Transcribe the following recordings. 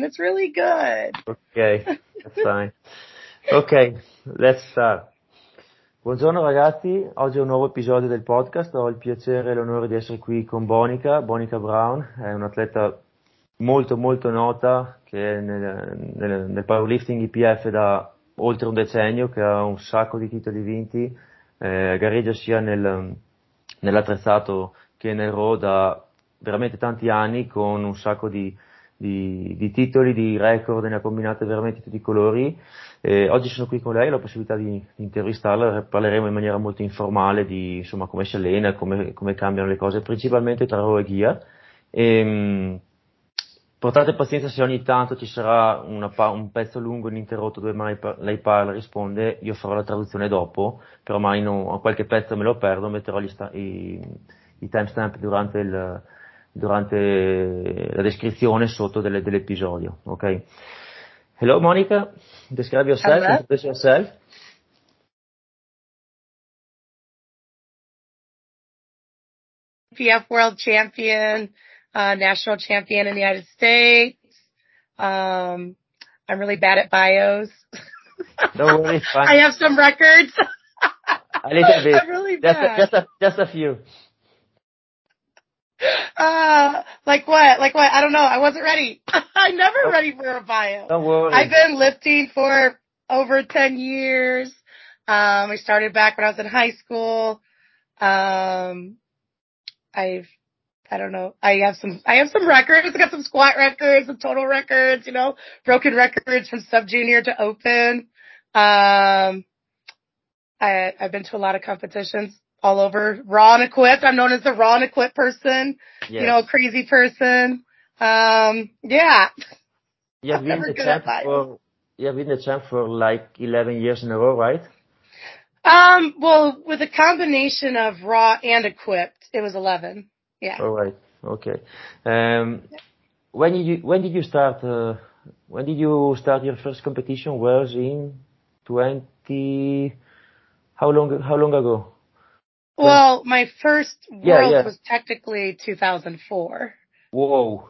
It's really good. Ok, that's fine. Ok, let's start. Buongiorno ragazzi, oggi è un nuovo episodio del podcast. Ho il piacere e l'onore di essere qui con Bonica Brown, è un'atleta molto molto nota che è nel powerlifting IPF da oltre un decennio, che ha un sacco di titoli vinti, gareggia sia nell'attrezzato che nel RAW da veramente tanti anni, con un sacco di titoli, di record, ne ha combinate veramente tutti i colori. Oggi sono qui con lei, ho la possibilità di intervistarla, parleremo in maniera molto informale di insomma come si allena, come cambiano le cose, principalmente tra RAW e Gear. Portate pazienza se ogni tanto ci sarà un pezzo lungo ininterrotto dove lei parla, risponde, io farò la traduzione dopo, però mai a qualche pezzo me lo perdo, metterò i timestamp durante la descrizione sotto dell'episodio, ok? Hello Monica, describe yourself, Hello. introduce yourself. IPF world champion, national champion in the United States. I'm really bad at bios. Don't worry, it's fine. I have some records. A little bit. I'm really bad. Just a few. Like what? I don't know. I wasn't ready. I'm never ready for a bio. Don't worry. I've been lifting for over 10 years. I started back when I was in high school. I don't know. I have some records. I got some squat records, some total records, broken records from sub junior to open. I've been to a lot of competitions all over. Raw and equipped. I'm known as the raw and equipped person. Yes. Crazy person. Yeah. You have been the champ for like 11 years in a row, right? Well, with a combination of raw and equipped, it was 11. Yeah. All right. Okay. When did you start? When did you start your first competition? Was in 20? How long ago? Well, my first world was technically 2004. Whoa.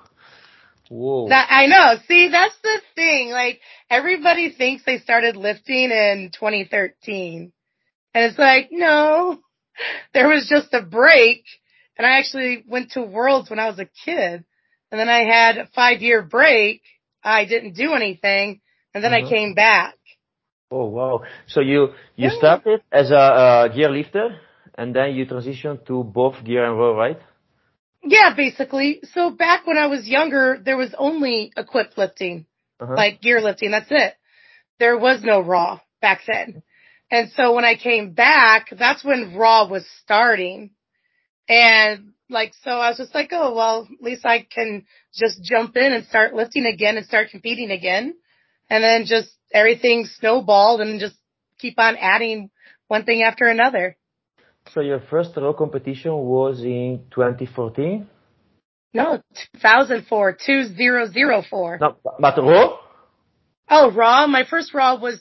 I know. See, that's the thing. Like, everybody thinks they started lifting in 2013. And it's like, no, there was just a break. And I actually went to Worlds when I was a kid. And then I had a 5-year break. I didn't do anything. And then I came back. Oh, wow. So you started as a gear lifter and then you transitioned to both gear and raw, right? Yeah, basically. So back when I was younger, there was only equipped lifting, like gear lifting. That's it. There was no raw back then. And so when I came back, that's when raw was starting. And so I was just like, oh, well, at least I can just jump in and start lifting again and start competing again. And then just everything snowballed and just keep on adding one thing after another. So your first raw competition was in 2014? No, 2004, 2004. No, but raw? Oh, raw? My first raw was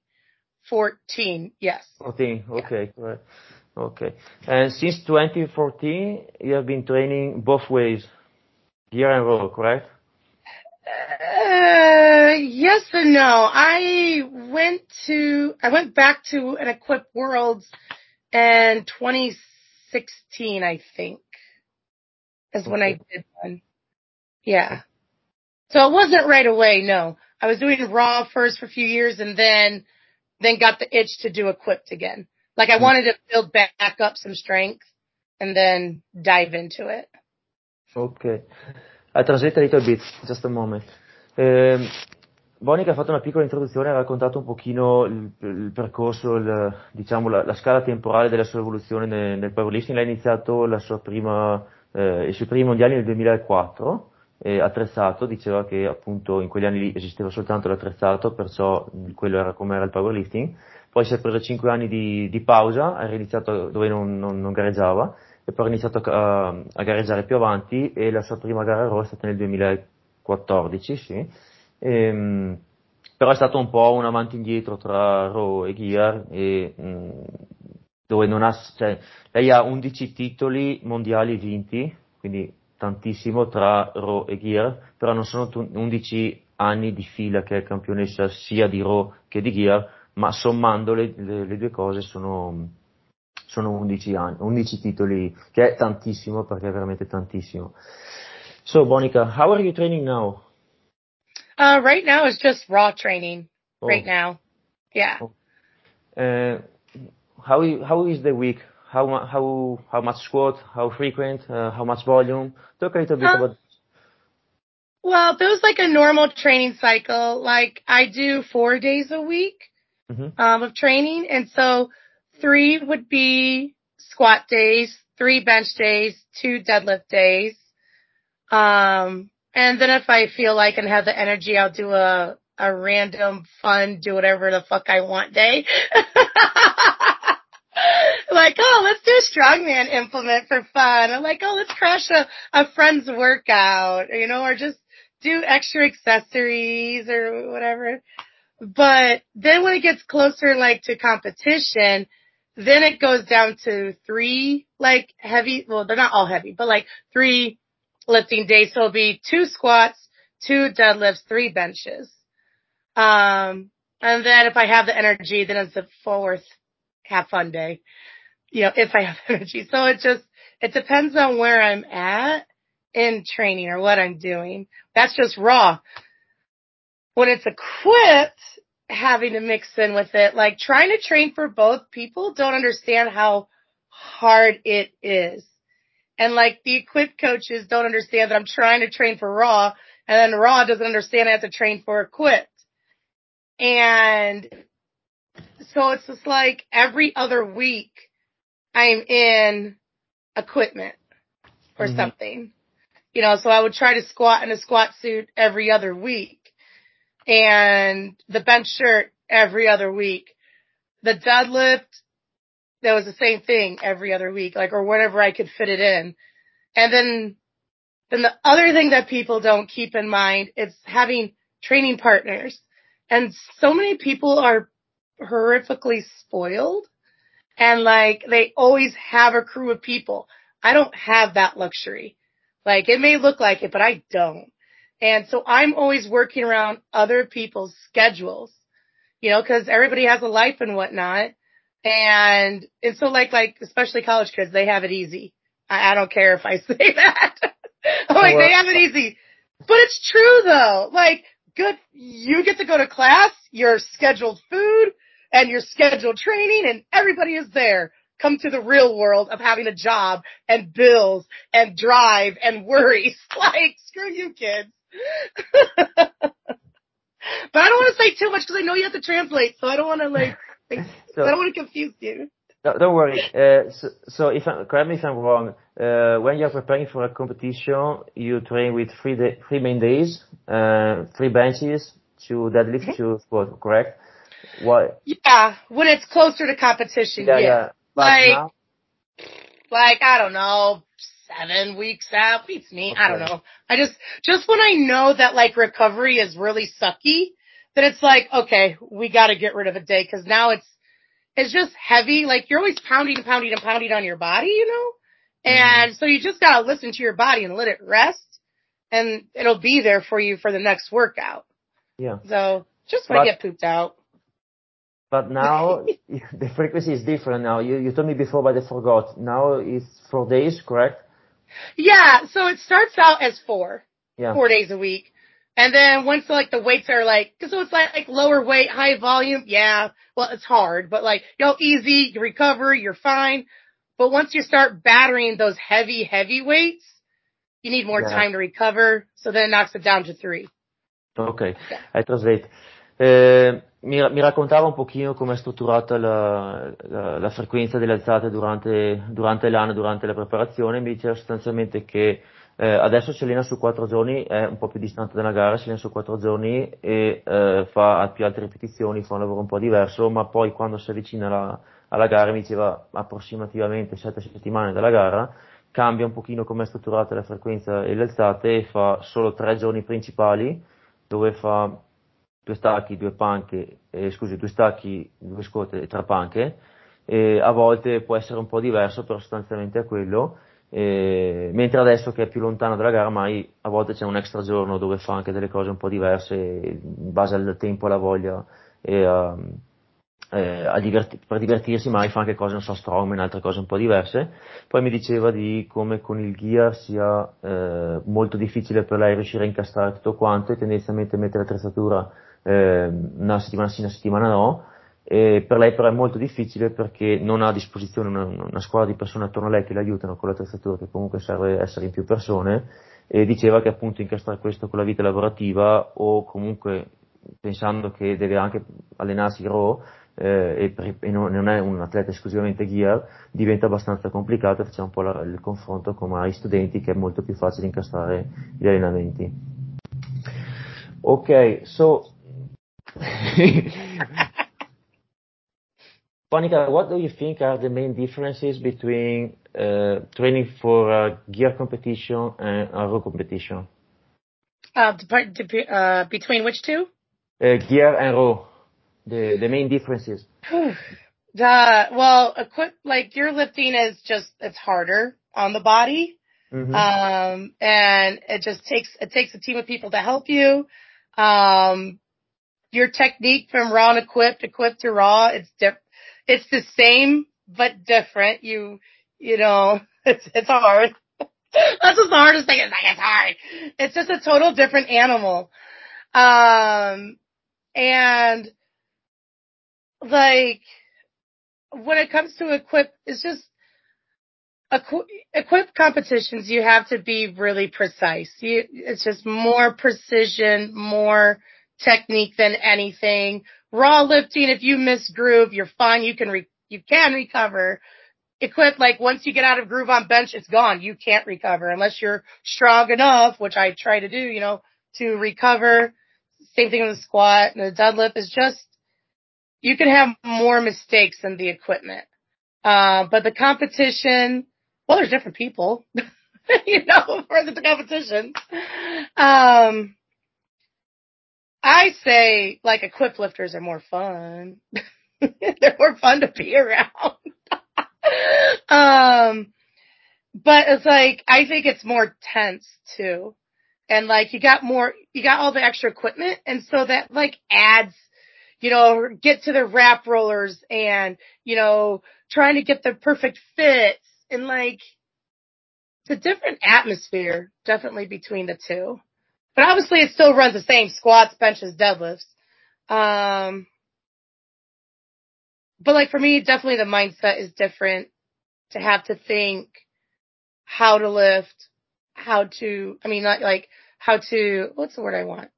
2014, yes. 14, okay, yeah. Right. Okay. And since 2014, you have been training both ways, gear and raw, correct? Yes and no. I went back to an equipped Worlds in 2016, I think, is when I did one. Yeah. So it wasn't right away, no. I was doing raw first for a few years and then got the itch to do equipped again. Like I wanted to build back up some strength and then dive into it. Okay. I translate a little bit, just a moment. Bonica ha fatto una piccola introduzione, ha raccontato un pochino il percorso, diciamo la scala temporale della sua evoluzione nel powerlifting. Lei ha iniziato i suoi primi mondiali nel 2004, attrezzato, diceva che appunto in quegli anni lì esisteva soltanto l'attrezzato, perciò quello era come era il powerlifting. Poi si è preso 5 anni di pausa, ha iniziato dove non gareggiava, e poi ha iniziato a gareggiare più avanti, e la sua prima gara Raw è stata nel 2014, sì. Però è stato un po' un avanti e indietro tra Raw e Gear, dove lei ha 11 titoli mondiali vinti, quindi tantissimo tra Raw e Gear, però non sono 11 anni di fila che è campionessa sia di Raw che di Gear, ma sommando le due cose sono 11 anni, 11 titoli, che è tantissimo, perché è veramente tantissimo. So, Monica, how are you training now? Right now it's just raw training. Right Oh. now. Yeah. Oh. How is the week? How much squat? How frequent? How much volume? Talk a little bit about. Well, there's like a normal training cycle. Like I do 4 days a week of training, and so 3 would be squat days, 3 bench days, 2 deadlift days. And then if I feel like and have the energy, I'll do a random fun, do whatever the fuck I want day. Like, oh, let's do a strongman implement for fun. I'm like, oh, let's crash a friend's workout, or just do extra accessories or whatever. But then when it gets closer, like, to competition, then it goes down to 3, like, heavy, well, they're not all heavy, but like 3 lifting days. So it'll be 2 squats, 2 deadlifts, 3 benches. And then if I have the energy, then it's a 4th have fun day, if I have energy. So it depends on where I'm at in training or what I'm doing. That's just raw. When it's equipped, having to mix in with it, like trying to train for both, people don't understand how hard it is. And like the equipped coaches don't understand that I'm trying to train for raw, and then raw doesn't understand I have to train for equipped. And so it's just like every other week I'm in equipment or something, so I would try to squat in a squat suit every other week, and the bench shirt every other week. The deadlift, that was the same thing every other week, like, or whenever I could fit it in. And then the other thing that people don't keep in mind is having training partners. And so many people are horrifically spoiled, and like they always have a crew of people. I don't have that luxury. Like, it may look like it, but I don't. And so I'm always working around other people's schedules, cause everybody has a life and whatnot. And so like, especially college kids, they have it easy. I don't care if I say that. I'm like, they have it easy. But it's true though. Like, good, you get to go to class, your scheduled food, and your scheduled training, and everybody is there. Come to the real world of having a job and bills and drive and worries. Like, screw you kids. But I don't want to say too much because I know you have to translate, so I don't want to I don't want to confuse you. No, don't worry. So correct me if I'm wrong. When you're preparing for a competition, you train with 3 main days, 3 benches, 2 deadlifts, 2 squats, correct? Why? Yeah, when it's closer to competition, yeah. Like, I don't know, 7 weeks out, beats me. Okay. I don't know. I just when I know that like recovery is really sucky, then it's like, okay, we got to get rid of a day, because now it's just heavy. Like, you're always pounding and pounding and pounding on your body, and so you just got to listen to your body and let it rest, and it'll be there for you for the next workout. Yeah. So just when I get pooped out. But now the frequency is different now. You told me before, but I forgot. Now it's 4 days, correct? Yeah. So it starts out as 4 days a week. And then once like the weights are so it's like lower weight, high volume. Yeah. Well, it's hard, but like, easy, you recover, you're fine. But once you start battering those heavy weights, you need more time to recover. So then it knocks it down to 3. Ok, I translate. Mi raccontava un pochino come è strutturata la frequenza delle alzate durante l'anno, durante la preparazione. Mi diceva sostanzialmente che adesso si allena su 4 giorni, è un po' più distante dalla gara, si allena su 4 giorni e fa più alte ripetizioni, fa un lavoro un po' diverso, ma poi quando si avvicina alla gara, mi diceva approssimativamente 7 settimane dalla gara, cambia un pochino come è strutturata la frequenza e le alzate, e fa solo 3 giorni principali, dove fa 2 stacchi, 2 panche, 2 stacchi, 2 squat e 3 panche, e a volte può essere un po' diverso, però sostanzialmente è quello. mentre adesso che è più lontano dalla gara, mai a volte c'è un extra giorno dove fa anche delle cose un po' diverse in base al tempo, alla voglia e per divertirsi, mai fa anche cose, non so, strongman, altre cose un po' diverse. Poi mi diceva di come con il gear sia molto difficile per lei riuscire a incastrare tutto quanto e tendenzialmente mettere l'attrezzatura una settimana sì, una settimana no. E per lei però è molto difficile perché non ha a disposizione una squadra di persone attorno a lei che le aiutano con l'attrezzatura, che comunque serve essere in più persone, e diceva che appunto incastrare questo con la vita lavorativa o comunque pensando che deve anche allenarsi raw e non è un atleta esclusivamente gear, diventa abbastanza complicato. Facciamo un po' il confronto con i studenti, che è molto più facile incastrare gli allenamenti. Ok, so Monica, what do you think are the main differences between training for a gear competition and a raw competition? Between which two? Gear and raw, the main differences. Well, like gear lifting is just, it's harder on the body. Mm-hmm. And it takes a team of people to help you. Your technique from raw and equipped to raw, it's the same, but different. You know, it's hard. That's just the hardest thing. It's like, it's hard. It's just a total different animal. And like, when it comes to it's just, equip competitions, you have to be really precise. It's just more precision, more technique than anything. Raw lifting, if you miss groove, you're fine. You can recover. Equip, like once you get out of groove on bench, it's gone. You can't recover unless you're strong enough, which I try to do, to recover. Same thing with the squat and the deadlift is just, you can have more mistakes than the equipment. But the competition, well, there's different people, for the competition. I say, like, equipped lifters are more fun. They're more fun to be around. But it's like, I think it's more tense too. And like, you got all the extra equipment. And so that like adds, get to the wrap rollers and, trying to get the perfect fits and like, it's a different atmosphere definitely between the two. But obviously it still runs the same: squats, benches, deadlifts. But like for me, definitely the mindset is different, to have to think how to lift, what's the word I want?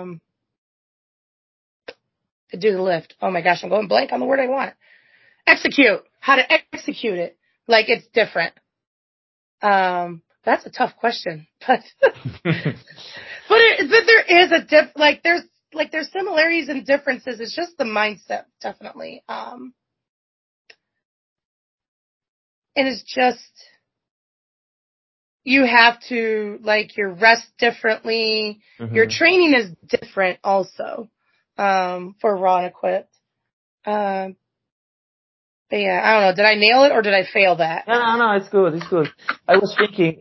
To do the lift. Oh my gosh, I'm going blank on the word I want. Execute. How to execute it. Like, it's different. That's a tough question, but but there is there's similarities and differences. It's just the mindset, definitely. And it's just, you have to, like, your rest differently. Mm-hmm. Your training is different also, for raw and equipped. But yeah, I don't know. Did I nail it or did I fail that? No, it's good. It's good. I was thinking,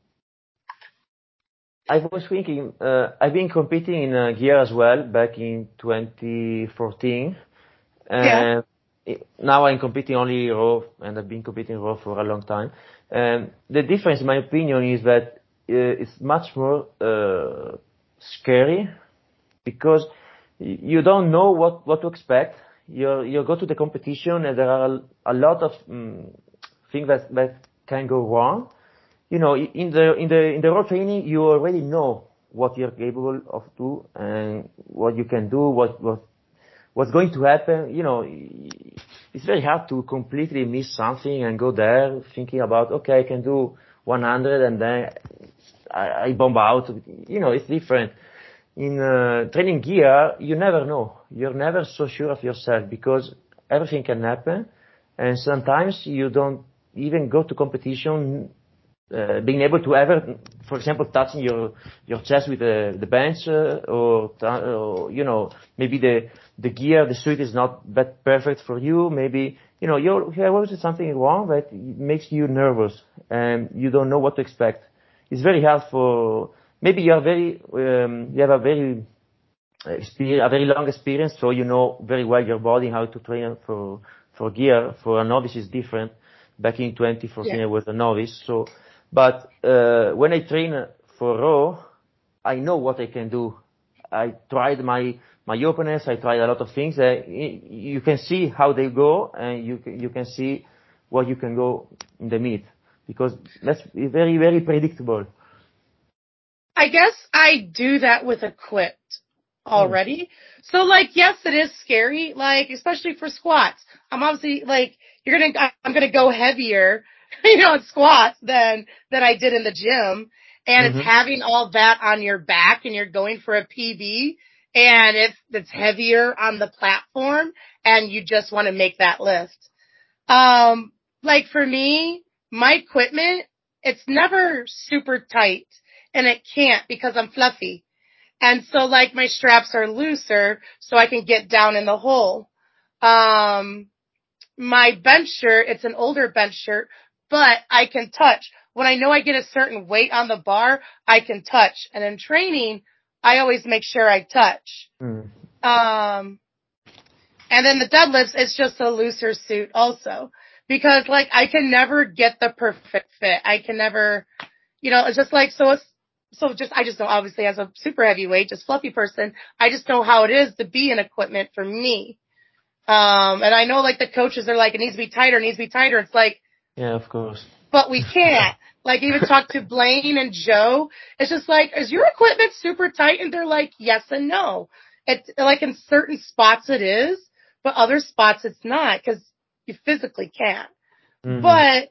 I've been competing in gear as well back in 2014. Yeah. Now I'm competing only raw, and I've been competing raw for a long time. The difference, in my opinion, is that it's much more scary, because you don't know what to expect. You go to the competition and there are a lot of things that can go wrong. In the raw training, you already know what you're capable of do and what you can do, what's going to happen. It's very hard to completely miss something and go there thinking about, okay, I can do 100 and then I bomb out. It's different. In training gear, you never know. You're never so sure of yourself because everything can happen, and sometimes you don't even go to competition being able to ever, for example, touching your chest with the bench, or maybe the gear, the suit is not that perfect for you. Maybe you have always something wrong that makes you nervous and you don't know what to expect. It's very hard for maybe you have a very long experience, so you know very well your body, how to train for gear. For a novice is different. Back in 2014, I was a novice, but when I train for Raw, I know what I can do. I tried my openness. I tried a lot of things. You can see how they go, and you can see what you can go in the meet, because that's very, very predictable. I guess I do that with Equipped already. So yes, it is scary, especially for squats. I'm obviously I'm gonna go heavier, in squats than I did in the gym. And it's having all that on your back and you're going for a PB and it's heavier on the platform and you just want to make that lift. For me, my equipment, it's never super tight and it can't because I'm fluffy. And so my straps are looser so I can get down in the hole. My bench shirt, it's an older bench shirt, but I can touch. When I know I get a certain weight on the bar, I can touch. And in training, I always make sure I touch. And then the deadlifts, it's just a looser suit also. Because I can never get the perfect fit. I can never, it's just I just know, obviously, as a super heavyweight, just fluffy person, I just know how it is to be in equipment for me. And I know the coaches are it needs to be tighter, It's yeah, of course. But we can't. Even talk to Blaine and Joe. It's just is your equipment super tight? And they're yes and no. It's in certain spots it is, but other spots it's not because you physically can't. But,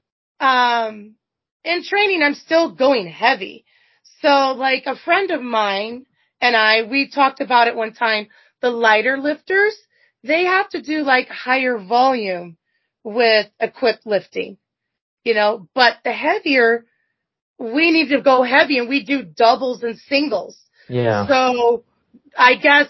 in training, I'm still going heavy. So a friend of mine and we talked about it one time, the lighter lifters, they have to do higher volume with equipped lifting, but the heavier, we need to go heavy and we do doubles and singles. Yeah. So I guess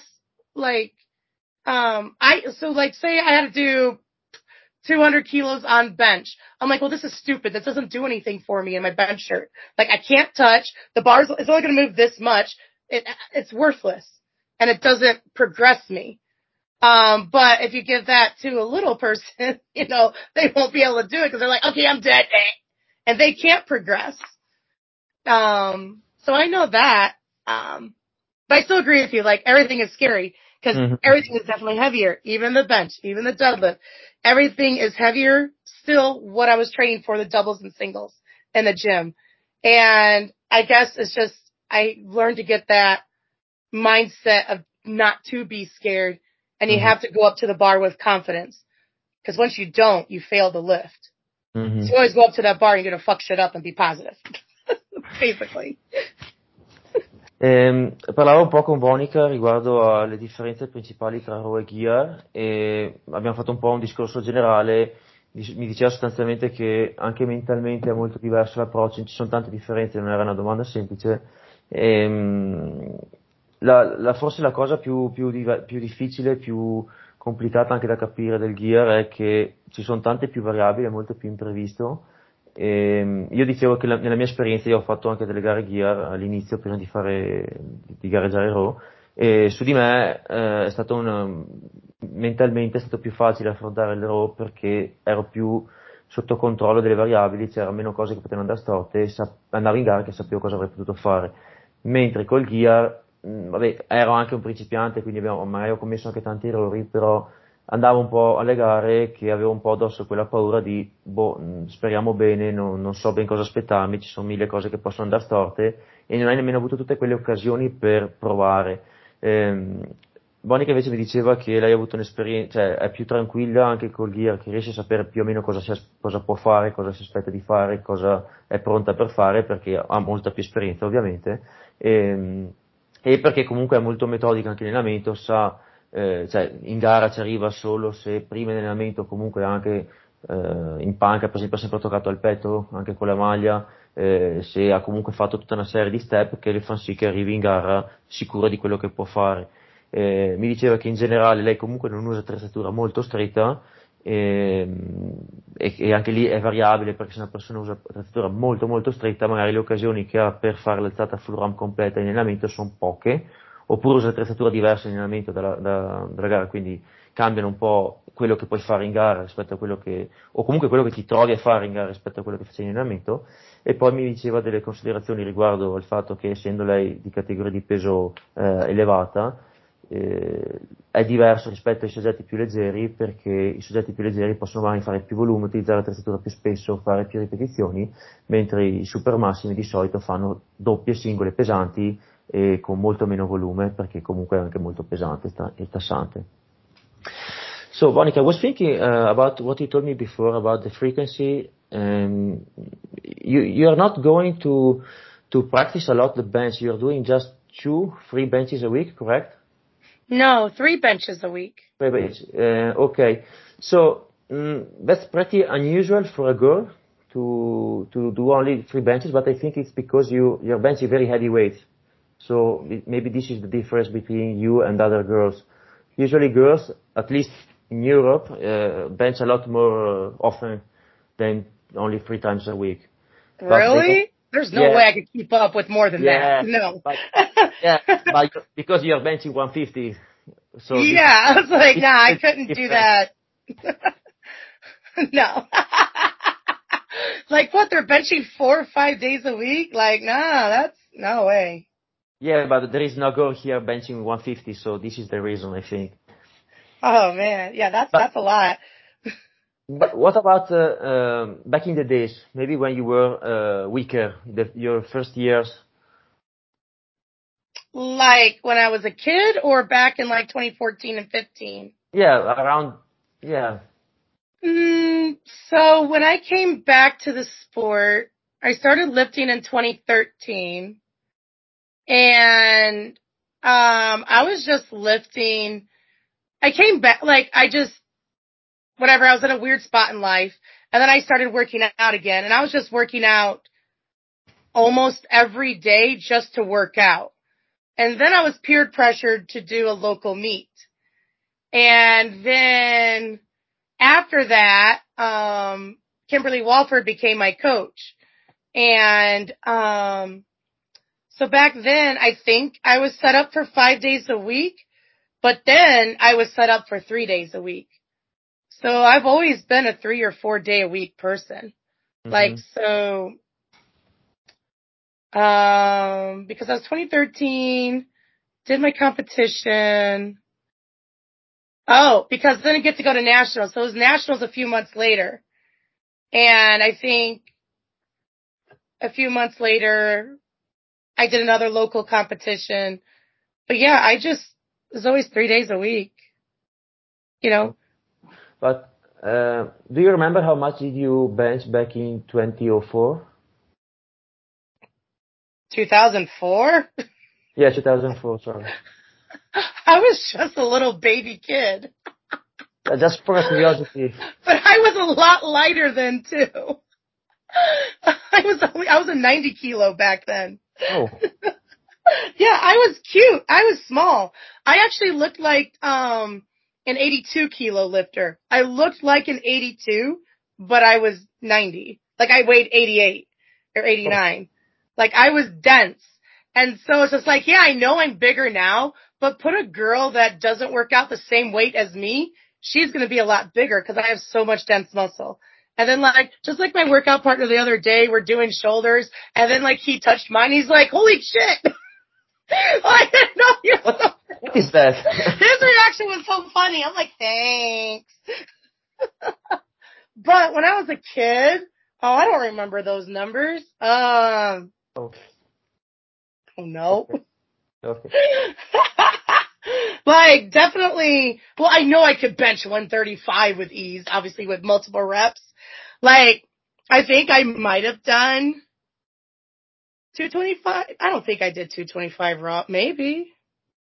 say I had to do 200 kilos on bench. I'm well, this is stupid. This doesn't do anything for me in my bench shirt. I can't touch. The bars, it's only going to move this much. It's worthless. And it doesn't progress me. But if you give that to a little person, they won't be able to do it because they're okay, I'm dead. And they can't progress. So I know that. But I still agree with you. Everything is scary because everything is definitely heavier. Even the bench, even the deadlift. Everything is heavier. Still what I was training for, the doubles and singles in the gym. And I guess it's just, I learned to get that mindset of not to be scared. And you have to go up to the bar with confidence. Because once you don't, you fail the lift. So you always go up to that bar and you're going to fuck shit up and be positive. Basically. Parlavo un po' con Monica riguardo alle differenze principali tra Raw e Gear e abbiamo fatto un po' un discorso generale. Mi diceva sostanzialmente che anche mentalmente è molto diverso l'approccio, ci sono tante differenze, non era una domanda semplice. Forse la cosa più difficile, più complicata anche da capire del Gear è che ci sono tante più variabili, è molto più imprevisto. Io dicevo che nella mia esperienza io ho fatto anche delle gare Gear all'inizio prima di gareggiare Raw e su di me è stato mentalmente è stato più facile affrontare il Raw perché ero più sotto controllo delle variabili, c'erano meno cose che potevano andare storte e andavo in gara che sapevo cosa avrei potuto fare, mentre col Gear vabbè, ero anche un principiante, quindi magari ho commesso anche tanti errori, però andavo un po' alle gare che avevo un po' addosso quella paura di, speriamo bene, non so ben cosa aspettarmi, ci sono mille cose che possono andare storte e non hai nemmeno avuto tutte quelle occasioni per provare. Monica invece mi diceva che lei ha avuto un'esperienza, cioè è più tranquilla anche col Gear, che riesce a sapere più o meno cosa può fare, cosa si aspetta di fare, cosa è pronta per fare, perché ha molta più esperienza ovviamente, e perché comunque è molto metodica anche in allenamento, sa, cioè in gara ci arriva solo se prima in allenamento comunque ha anche in panca per esempio ha sempre toccato al petto, anche con la maglia, se ha comunque fatto tutta una serie di step che le fanno sì che arrivi in gara sicura di quello che può fare. Mi diceva che in generale lei comunque non usa attrezzatura molto stretta, e anche lì è variabile perché se una persona usa attrezzatura molto molto stretta magari le occasioni che ha per fare l'alzata full ramp completa in allenamento sono poche, oppure usa attrezzatura diversa in allenamento dalla gara, quindi cambiano un po' quello che puoi fare in gara rispetto a quello che, o comunque quello che ti trovi a fare in gara rispetto a quello che facevi in allenamento. E poi mi diceva delle considerazioni riguardo al fatto che essendo lei di categoria di peso elevata, è diverso rispetto ai soggetti più leggeri, perché i soggetti più leggeri possono magari fare più volume, utilizzare l'attrezzatura più spesso, fare più ripetizioni, mentre i super massimi di solito fanno doppie singole pesanti e con molto meno volume, perché comunque è anche molto pesante e tassante. So, Monica, I was thinking about what you told me before about the frequency. You are not going to practice a lot the bench. You are doing just 2-3 benches a week, correct? No, 3 benches a week. 3 benches. Okay. So that's pretty unusual for a girl to do only 3 benches, but I think it's because you're benching very heavy weights. So maybe this is the difference between you and other girls. Usually girls, at least in Europe, bench a lot more often than only 3 times a week. Really? There's no way I could keep up with more than that. No. But because you're benching 150. So yeah, I was like, nah, I couldn't do that. No. Like what, they're benching 4 or 5 days a week? Like, nah, that's no way. Yeah, but there is no girl here benching 150, so this is the reason, I think. Oh man, yeah, that's a lot. But what about back in the days, maybe when you were weaker, your first years? Like when I was a kid or back in like 2014 and 15? Yeah, around, yeah. So when I came back to the sport, I started lifting in 2013 and I was just lifting. I came back, like whatever, I was in a weird spot in life and then I started working out again and I was just working out almost every day just to work out. And then I was peer pressured to do a local meet. And then after that, Kimberly Walford became my coach. And, so back then I think I was set up for 5 days a week, but then I was set up for 3 days a week. So I've always been a 3 or 4 day a week person. Mm-hmm. Like, so, because I was 2013, did my competition. Oh, because then I get to go to nationals. So it was nationals a few months later. And I think a few months later, I did another local competition. But yeah, it was always 3 days a week, you know. But, do you remember how much did you bench back in 2004? 2004? Yeah, 2004, sorry. I was just a little baby kid. Just for curiosity. But I was a lot lighter then too. I was a 90 kilo back then. Oh. Yeah, I was cute. I was small. I actually looked like an 82 kilo lifter. I looked like an 82, but I was 90. Like I weighed 88 or 89. Oh. Like I was dense. And so it's just like, yeah, I know I'm bigger now, but put a girl that doesn't work out the same weight as me, she's going to be a lot bigger because I have so much dense muscle. And then like, just like my workout partner the other day, we're doing shoulders and then like he touched mine. He's like, holy shit. I didn't know you. What is that? His reaction was so funny. I'm like, thanks. But when I was a kid, I don't remember those numbers. Oh no. Okay. Like definitely. Well, I know I could bench 135 with ease, obviously with multiple reps. Like I think I might have done 225. I don't think I did 225 raw. Maybe.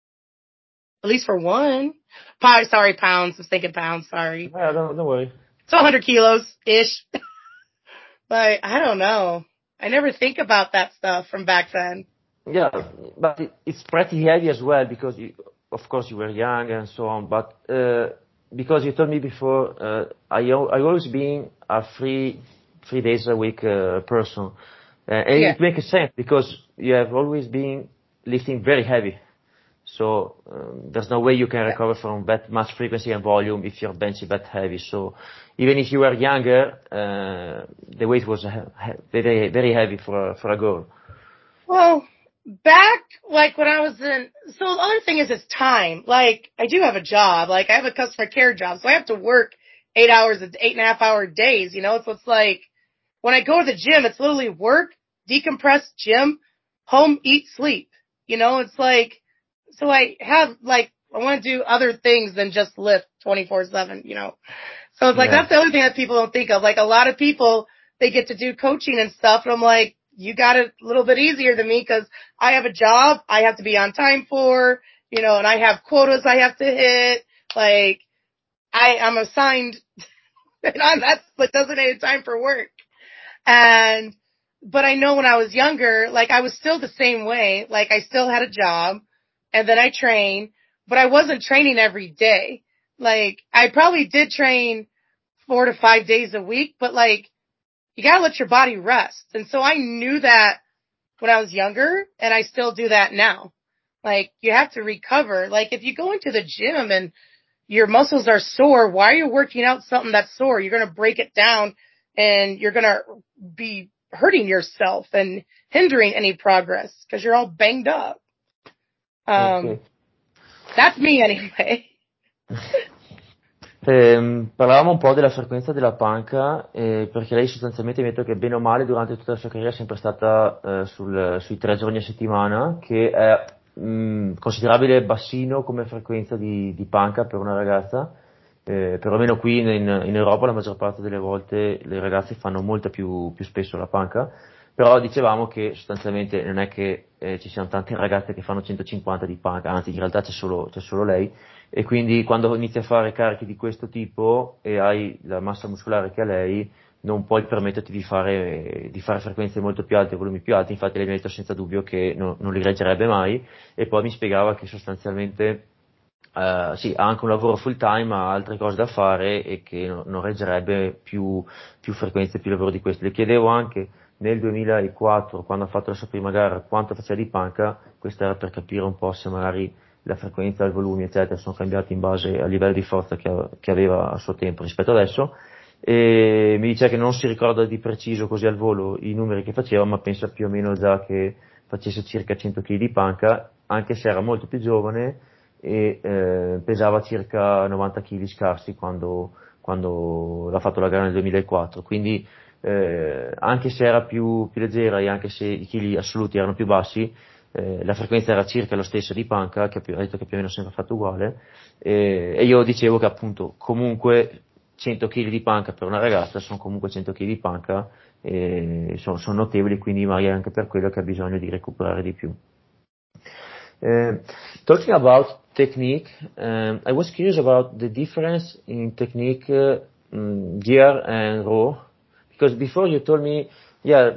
At least for one. Sorry, pounds. I was thinking pounds. Sorry. Yeah, don't worry. So 100 kilos-ish. But I don't know. I never think about that stuff from back then. Yeah, but it's pretty heavy as well because of course you were young and so on, but because you told me before, I always been a 3 days a week person. And Yeah. it makes sense because you have always been lifting very heavy. So there's no way you can recover from that much frequency and volume if you're benching that heavy. So even if you were younger, the weight was very, very heavy for a girl. Well, back like when I was so the other thing is time. Like I do have a job. Like I have a customer care job, so I have to work 8 hours, 8.5 hour days. So it's like when I go to the gym, it's literally work, decompress, gym, home, eat, sleep. It's like so I have like I want to do other things than just lift 24/7. So it's like that's the other thing that people don't think of. Like a lot of people they get to do coaching and stuff, and I'm like, you got it a little bit easier than me because I have a job I have to be on time for, and I have quotas I have to hit. Like I'm assigned, and that's like designated time for work. But I know when I was younger, like I was still the same way. Like I still had a job and then I trained, but I wasn't training every day. Like I probably did train 4 to 5 days a week, but like you gotta let your body rest. And so I knew that when I was younger and I still do that now. Like you have to recover. Like if you go into the gym and your muscles are sore, why are you working out something that's sore? You're going to break it down and you're going to be hurting yourself and hindering any progress because you're all banged up. Okay. That's me anyway. Parlavamo un po' della frequenza della panca, perché lei sostanzialmente mi ha detto che bene o male durante tutta la sua carriera è sempre stata sui 3 giorni a settimana, che è considerabile bassino come frequenza di panca per una ragazza, perlomeno qui in Europa la maggior parte delle volte le ragazze fanno molto più spesso la panca, però dicevamo che sostanzialmente non è che ci siano tante ragazze che fanno 150 di panca, anzi in realtà c'è solo lei, e quindi quando inizi a fare carichi di questo tipo e hai la massa muscolare che ha lei, non puoi permetterti di fare frequenze molto più alte, volumi più alti. Infatti lei mi ha detto senza dubbio che non li reggerebbe mai, e poi mi spiegava che sostanzialmente sì, ha anche un lavoro full time, ha altre cose da fare e che non reggerebbe più frequenze, più lavoro di questo. Le chiedevo anche nel 2004, quando ha fatto la sua prima gara, quanto faceva di panca. Questo era per capire un po' se magari la frequenza, il volume, eccetera, sono cambiati in base al livello di forza che aveva a suo tempo rispetto adesso. E mi dice che non si ricorda di preciso così al volo i numeri che faceva, ma pensa più o meno già che facesse circa 100 kg di panca, anche se era molto più giovane e pesava circa 90 kg scarsi quando l'ha fatto la gara nel 2004. Quindi anche se era più leggera e anche se i chili assoluti erano più bassi, la frequenza era circa la stessa di panca, che ha detto che più o meno sempre fatto uguale, e io dicevo che appunto comunque 100 kg di panca per una ragazza sono comunque 100 kg di panca, e sono notevoli, quindi magari è anche per quello che ha bisogno di recuperare di più. Talking about technique, I was curious about the difference in technique, gear and raw, because before you told me, yeah,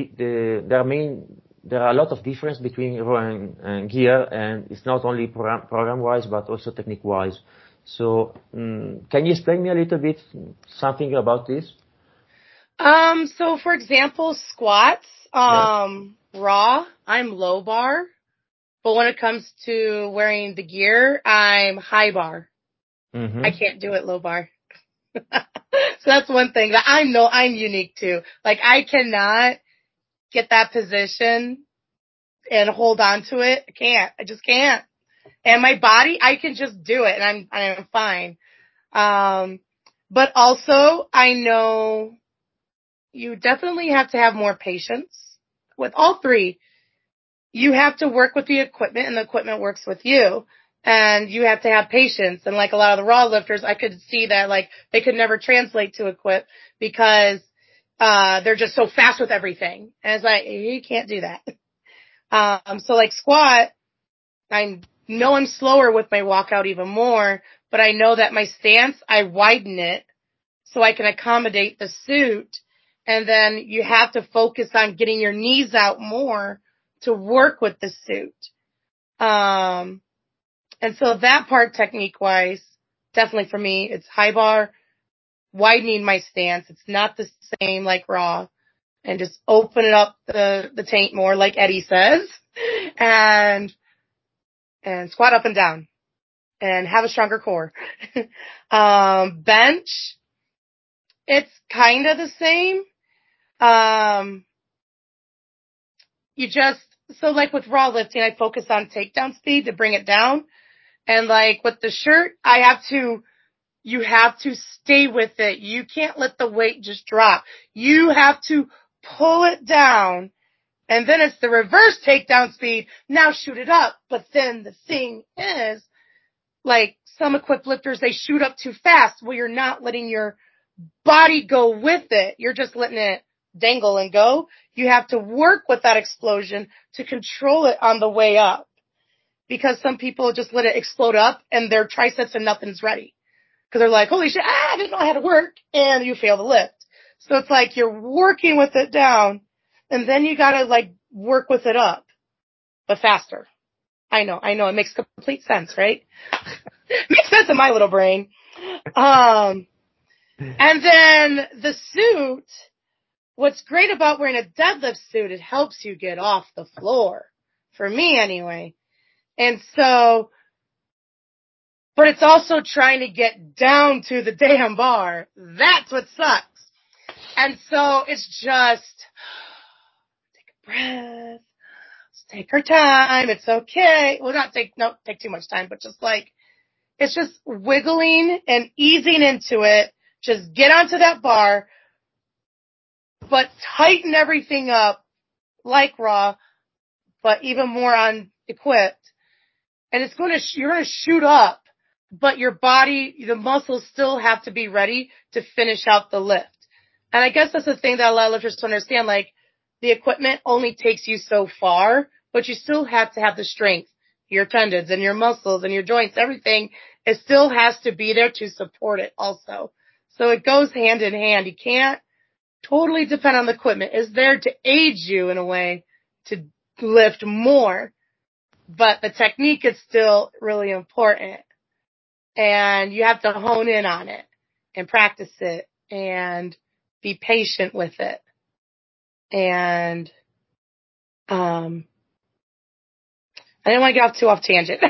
there are a lot of difference between raw and gear, and it's not only program wise but also technique wise. So, can you explain me a little bit something about this? So for example, squats, raw, I'm low bar. But when it comes to wearing the gear, I'm high bar. Mm-hmm. I can't do it low bar. So that's one thing that I know I'm unique to. Like I cannot get that position and hold on to it. I can't. I just can't. And my body, I can just do it and I'm fine. But also I know you definitely have to have more patience with all three. You have to work with the equipment and the equipment works with you. And you have to have patience. And like a lot of the raw lifters, I could see that like they could never translate to equip because, they're just so fast with everything. And it's like, you can't do that. So like squat, I know I'm slower with my walkout even more, but I know that my stance, I widen it so I can accommodate the suit. And then you have to focus on getting your knees out more to work with the suit. And so that part, technique-wise, definitely for me, it's high bar, widening my stance. It's not the same like raw, and just open it up the taint more, like Eddie says, and squat up and down, and have a stronger core. Bench, it's kind of the same. So like with raw lifting, I focus on takedown speed to bring it down. And like with the shirt, you have to stay with it. You can't let the weight just drop. You have to pull it down. And then it's the reverse takedown speed. Now shoot it up. But then the thing is, like some equipped lifters, they shoot up too fast. Well, you're not letting your body go with it. You're just letting it dangle and go. You have to work with that explosion to control it on the way up. Because some people just let it explode up and their triceps and nothing's ready. Because they're like, holy shit, I didn't know how to work. And you fail the lift. So it's like you're working with it down and then you gotta like work with it up, but faster. I know. It makes complete sense, right? Makes sense in my little brain. And then the suit, what's great about wearing a deadlift suit, it helps you get off the floor. For me anyway. And so, but it's also trying to get down to the damn bar. That's what sucks. And so it's just take a breath. Let's take our time. It's okay. Well, take too much time, but just like, it's just wiggling and easing into it. Just get onto that bar, but tighten everything up like raw, but even more on equipped. And you're going to shoot up, but your body, the muscles still have to be ready to finish out the lift. And I guess that's the thing that a lot of lifters don't understand. Like, the equipment only takes you so far, but you still have to have the strength, your tendons and your muscles and your joints, everything. It still has to be there to support it also. So it goes hand in hand. You can't totally depend on the equipment. It's there to aid you in a way to lift more. But the technique is still really important. And you have to hone in on it and practice it and be patient with it. And I didn't want to get off tangent.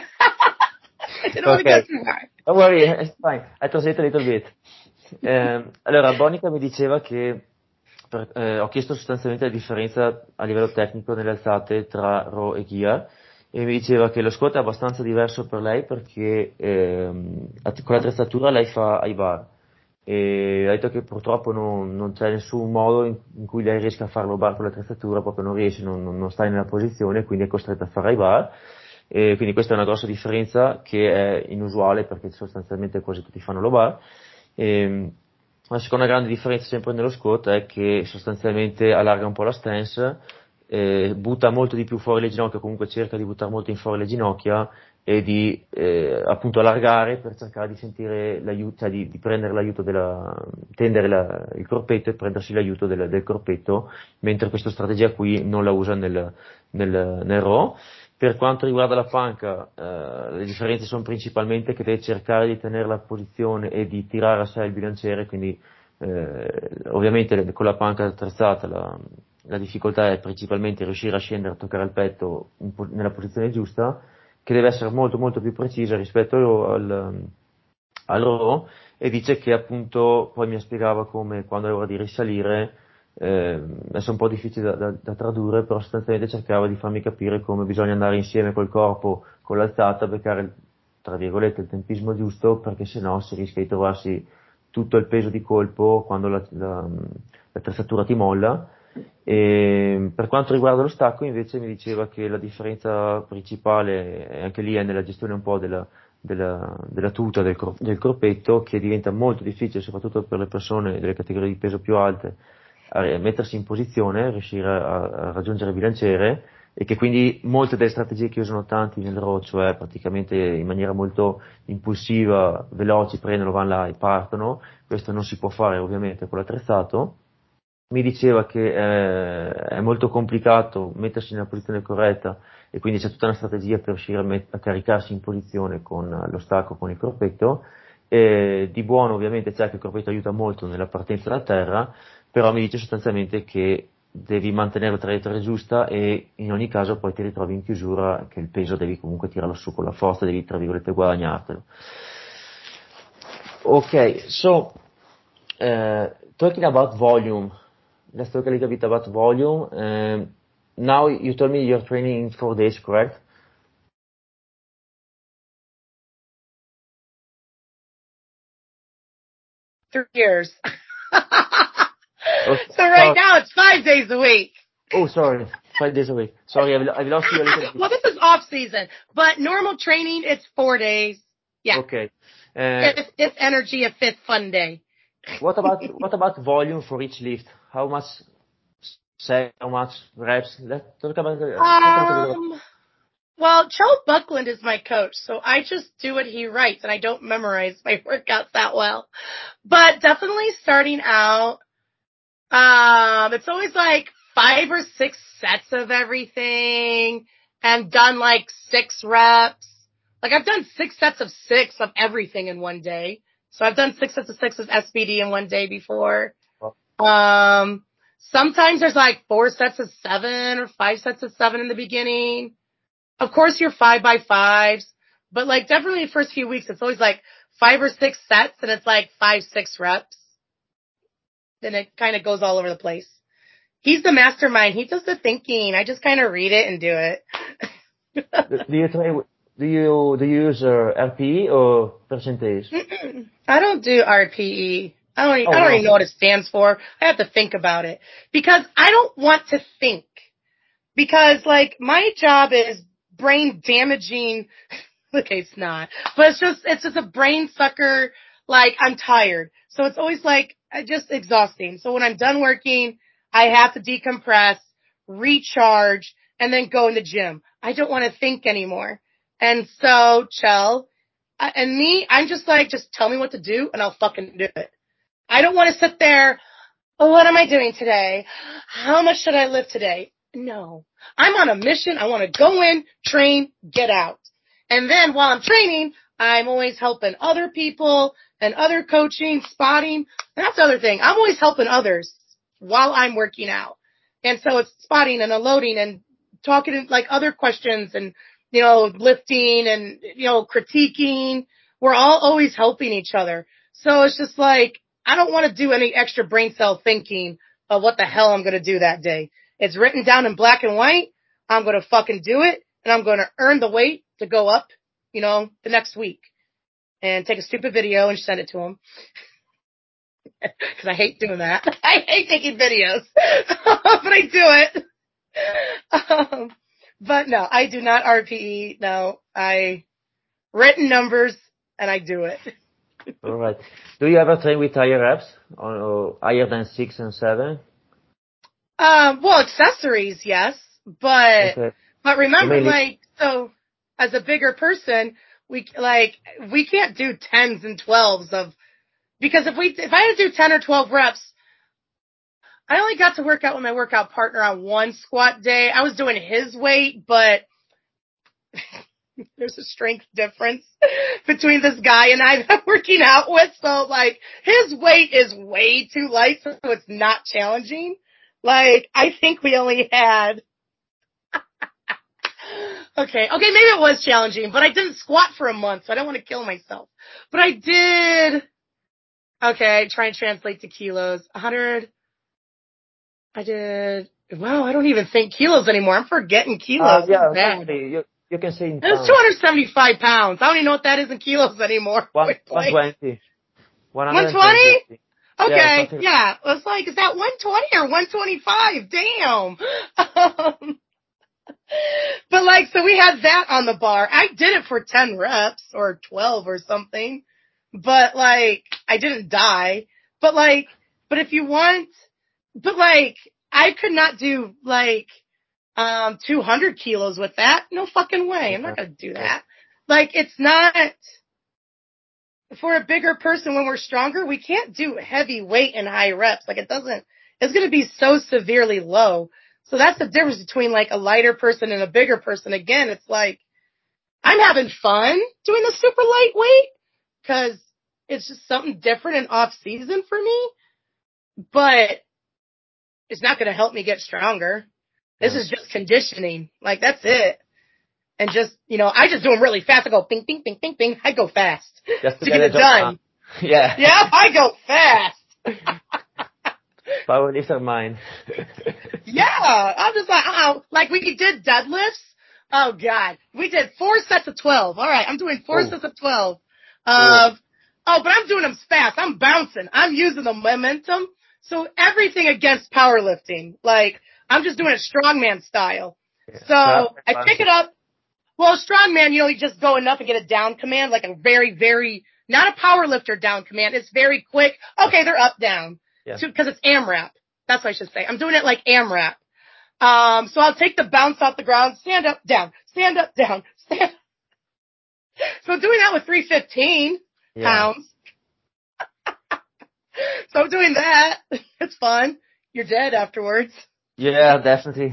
I didn't want to go too far. Don't worry, it's fine. I translate a little bit. Allora, Bonica mi diceva che ho chiesto sostanzialmente la differenza a livello tecnico nelle alzate tra Raw e Gear e mi diceva che lo squat è abbastanza diverso per lei perché con l'attrezzatura lei fa ai bar e ha detto che purtroppo non c'è nessun modo in cui lei riesca a farlo bar con l'attrezzatura, proprio non riesce, non sta nella posizione, quindi è costretta a fare ai bar. E quindi questa è una grossa differenza che è inusuale perché sostanzialmente quasi tutti fanno lo bar. La seconda grande differenza sempre nello squat è che sostanzialmente allarga un po' la stance, butta molto di più fuori le ginocchia, comunque cerca di buttare molto in fuori le ginocchia e di appunto allargare per cercare di sentire l'aiuto, cioè di prendere l'aiuto tendere il corpetto e prendersi l'aiuto del corpetto, mentre questa strategia qui non la usa nel row. Per quanto riguarda la panca, le differenze sono principalmente che deve cercare di tenere la posizione e di tirare a sé il bilanciere, quindi ovviamente con la panca attrezzata la difficoltà è principalmente riuscire a scendere, a toccare il petto nella posizione giusta, che deve essere molto molto più precisa rispetto al row, e dice che appunto poi mi spiegava come quando è ora di risalire, adesso è un po' difficile da tradurre, però sostanzialmente cercava di farmi capire come bisogna andare insieme col corpo, con l'alzata, beccare tra virgolette il tempismo giusto, perché sennò si rischia di trovarsi tutto il peso di colpo quando l'attrezzatura ti molla. E per quanto riguarda lo stacco invece mi diceva che la differenza principale anche lì è nella gestione un po' della tuta del corpetto, che diventa molto difficile soprattutto per le persone delle categorie di peso più alte a mettersi in posizione, riuscire a raggiungere il bilanciere, e che quindi molte delle strategie che usano tanti nel road, cioè praticamente in maniera molto impulsiva, veloci, prendono, vanno là e partono, questo non si può fare ovviamente con l'attrezzato. Mi diceva che è molto complicato mettersi nella posizione corretta e quindi c'è tutta una strategia per riuscire a caricarsi in posizione con lo stacco, con il corpetto. Di buono ovviamente c'è che il corpetto aiuta molto nella partenza da terra, però mi dice sostanzialmente che devi mantenere la traiettoria giusta e in ogni caso poi ti ritrovi in chiusura che il peso devi comunque tirarlo su con la forza, devi tra virgolette guadagnartelo. Okay, so talking about volume, let's talk a little bit about volume. Now you told me you're training in 4 days, correct? 3 years. Oh, So right now it's 5 days a week. oh, sorry, 5 days a week. Sorry, I've lost you a little bit. Well, this is off season, but normal training it's 4 days. Yeah. Okay. It's energy a fifth fun day. What about volume for each lift? How much set, how much reps? Let's talk about Well, Charles Buckland is my coach, so I just do what he writes, and I don't memorize my workouts that well. But definitely starting out, it's always like 5 or 6 sets of everything, and done like 6 reps. Like I've done 6 sets of 6 of everything in one day. So I've done 6 sets of 6 of SBD in one day before. Sometimes there's like 4 sets of 7 or 5 sets of 7 in the beginning. Of course, you're 5x5s, but like definitely the first few weeks, it's always like 5 or 6 sets and it's like 5, 6 reps. Then it kind of goes all over the place. He's the mastermind. He does the thinking. I just kind of read it and do it. Do you use RPE or percentage? I don't do RPE. I don't even know what it stands for. I have to think about it because I don't want to think because like my job is brain damaging. Okay, it's not, but it's just a brain sucker. Like I'm tired. So it's always like just exhausting. So when I'm done working, I have to decompress, recharge, and then go in the gym. I don't want to think anymore. And so, Chell, and me, I'm just like, just tell me what to do and I'll fucking do it. I don't want to sit there, oh, what am I doing today? How much should I lift today? No. I'm on a mission. I want to go in, train, get out. And then while I'm training, I'm always helping other people and other coaching, spotting. And that's the other thing. I'm always helping others while I'm working out. And so it's spotting and unloading and talking like other questions and, you know, lifting and, you know, critiquing. We're all always helping each other. So it's just like, I don't want to do any extra brain cell thinking of what the hell I'm going to do that day. It's written down in black and white. I'm going to fucking do it and I'm going to earn the weight to go up, you know, the next week and take a stupid video and send it to him. Cause I hate doing that. I hate taking videos, but I do it. But no, I do not RPE. No, I written numbers and I do it. All right. Do you ever train with higher reps or higher than 6 and 7? Well, accessories, yes, but Okay. remember, like, so as a bigger person, we can't do 10s and 12s of, because if I had to do 10 or 12 reps, I only got to work out with my workout partner on one squat day. I was doing his weight, but there's a strength difference between this guy and I that I'm working out with. So like his weight is way too light, so it's not challenging. Like I think we only had okay, maybe it was challenging, but I didn't squat for a month, so I don't want to kill myself. But I did. Okay, try and translate to kilos. 100. I did. Wow, I don't even think kilos anymore. I'm forgetting kilos. Yeah, exactly. You can say in pounds. It was 275 pounds. I don't even know what that is in kilos anymore. 120. 120? Okay, yeah. It was like, is that 120 or 125? Damn. But like, so we had that on the bar. I did it for 10 reps or 12 or something. But like, I didn't die. But if you want, but like, I could not do like 200 kilos with that. No fucking way. I'm not going to do that. Like, it's not, for a bigger person when we're stronger, we can't do heavy weight and high reps. Like, it's going to be so severely low. So that's the difference between like a lighter person and a bigger person. Again, it's like, I'm having fun doing the super lightweight because it's just something different and off season for me, but it's not going to help me get stronger. This is just conditioning. Like, that's it. And just, I just do them really fast. I go bing, bing, bing, bing, bing. I go fast just to get it done. Yeah. Yeah, I go fast. Powerlifter mind. Yeah, I'm just like, like we did deadlifts. Oh God, we did 4 sets of 12. All right, I'm doing 4 sets of 12. But I'm doing them fast. I'm bouncing. I'm using the momentum. So everything against powerlifting. Like, I'm just doing it strongman style. Yeah. So I pick it up. Well, strongman, you just go enough and get a down command, like a very, very, not a powerlifter down command. It's very quick. Okay, they're up, down. Yeah. Because it's AMRAP. That's what I should say. I'm doing it like AMRAP. So I'll take the bounce off the ground, stand up, down, stand up, down, stand. So I'm doing that with 315 pounds. So I'm doing that. It's fun. You're dead afterwards. Yeah, definitely.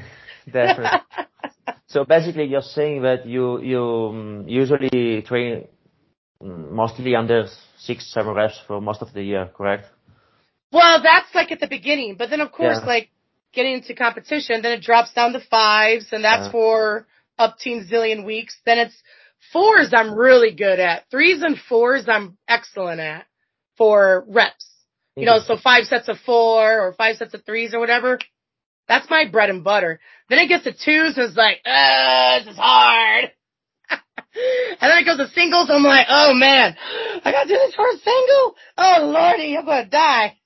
So basically you're saying that you usually train mostly under 6-7 reps for most of the year, correct? Well, that's like at the beginning, but then of course, like getting into competition, then it drops down to 5s, and that's for up to zillion weeks. Then it's 4s I'm really good at. 3s and 4s I'm excellent at for reps. So 5 sets of 4 or 5 sets of 3s or whatever. That's my bread and butter. Then it gets to 2s and it's like, this is hard. And then it goes to singles. I'm like, oh man, I gotta do this for a single. Oh lordy, I'm gonna die.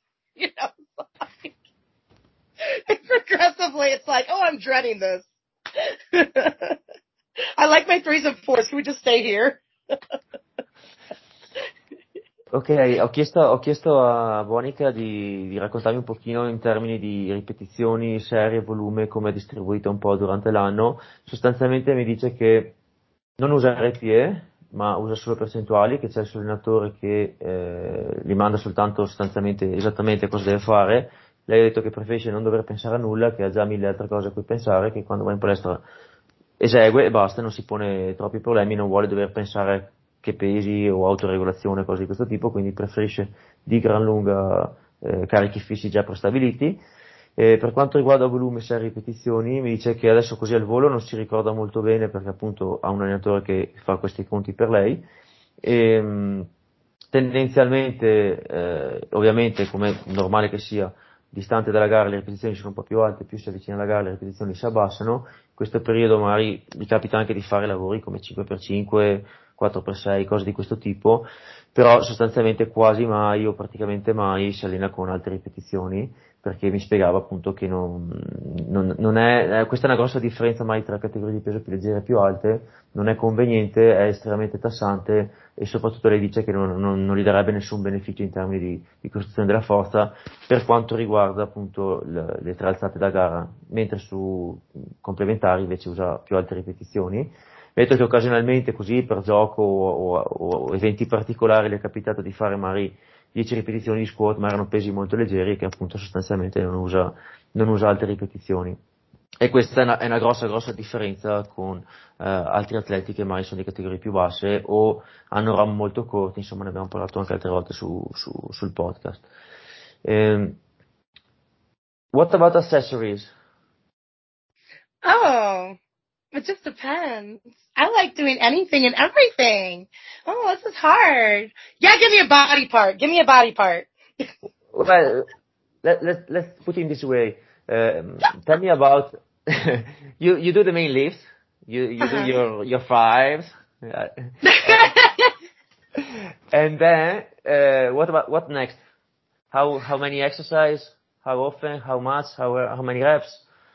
Progressively, it's like, oh, I'm dreading this. I like my 3s and 4s. Can we just stay here? Ok, ho chiesto a Monica di raccontarmi un pochino in termini di ripetizioni, serie, volume, come è distribuito un po' durante l'anno. Sostanzialmente mi dice che non usa RPE, ma usa solo percentuali, che c'è il suo allenatore che gli manda soltanto sostanzialmente esattamente cosa deve fare. Lei ha detto che preferisce non dover pensare a nulla, che ha già 1000 altre cose a cui pensare, che quando va in palestra esegue e basta, non si pone troppi problemi, non vuole dover pensare che pesi o autoregolazione, cose di questo tipo, quindi preferisce di gran lunga carichi fissi già prestabiliti. Per quanto riguarda volume, serie, ripetizioni, mi dice che adesso così al volo non si ricorda molto bene perché appunto ha un allenatore che fa questi conti per lei. Tendenzialmente, ovviamente, come normale che sia, distante dalla gara le ripetizioni sono un po' più alte, più si avvicina alla gara le ripetizioni si abbassano. In questo periodo magari mi capita anche di fare lavori come 5x5, 4x6, cose di questo tipo, però sostanzialmente quasi mai o praticamente mai si allena con alte ripetizioni, perché mi spiegava appunto che non è, questa è una grossa differenza mai tra categorie di peso più leggere e più alte, non è conveniente, è estremamente tassante e soprattutto lei dice che non gli darebbe nessun beneficio in termini di costruzione della forza per quanto riguarda appunto le 3 alzate da gara, mentre su complementari invece usa più alte ripetizioni. Vedo che occasionalmente così per gioco o eventi particolari le è capitato di fare magari 10 ripetizioni di squat, ma erano pesi molto leggeri che appunto sostanzialmente non usa alte ripetizioni. E questa è una grossa differenza con altri atleti che magari sono di categorie più basse o hanno RAM molto corti, insomma ne abbiamo parlato anche altre volte sul podcast. What about accessories? Oh, it just depends. I like doing anything and everything. Oh, this is hard. Yeah, give me a body part. Give me a body part. Well, let's put it in this way. Tell me about you do the main lifts. You do your 5s. And then what next? How many exercise? How often? How much? How many reps?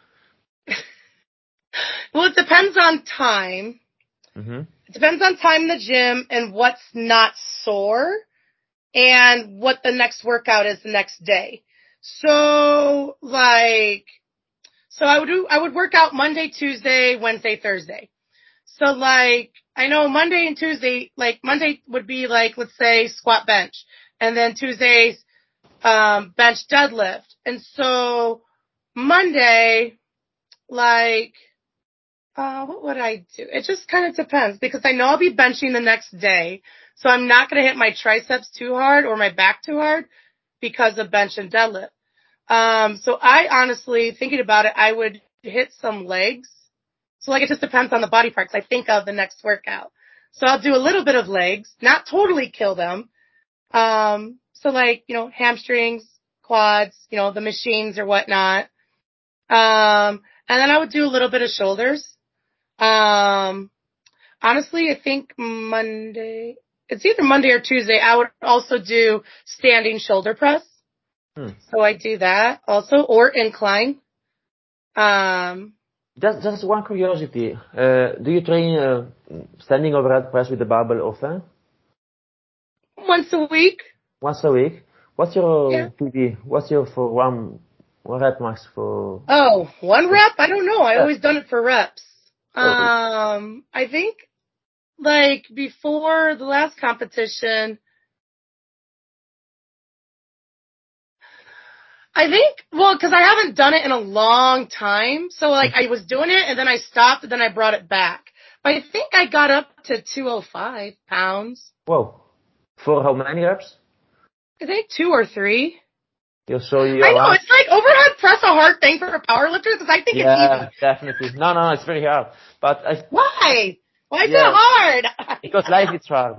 Well, it depends on time. Mm-hmm. It depends on time in the gym and what's not sore and what the next workout is the next day. So So I would work out Monday, Tuesday, Wednesday, Thursday. So like, I know Monday and Tuesday, like Monday would be like, let's say squat bench. And then Tuesday's, bench deadlift. And so Monday, like, what would I do? It just kind of depends because I know I'll be benching the next day. So I'm not going to hit my triceps too hard or my back too hard because of bench and deadlift. So I honestly, thinking about it, I would hit some legs. So like it just depends on the body parts I think of the next workout. So I'll do a little bit of legs, not totally kill them. So like, hamstrings, quads, the machines or whatnot. And then I would do a little bit of shoulders. Honestly, I think it's either Monday or Tuesday, I would also do standing shoulder press. So I do that also, or incline. Just one curiosity. Do you train standing overhead press with the barbell often? Once a week. Once a week? What's your PB? What's your for one rep max for? Oh, 1 rep? I don't know. I always done it for reps. Oh. I think like before the last competition, cause I haven't done it in a long time. So like I was doing it and then I stopped and then I brought it back. But I think I got up to 205 pounds. Whoa. For how many reps? I think 2 or 3. I know, it's like overhead press a hard thing for a power lifter because I think it's easy. Yeah, definitely. No, it's very hard. But Why? Why is it hard? Because life is hard.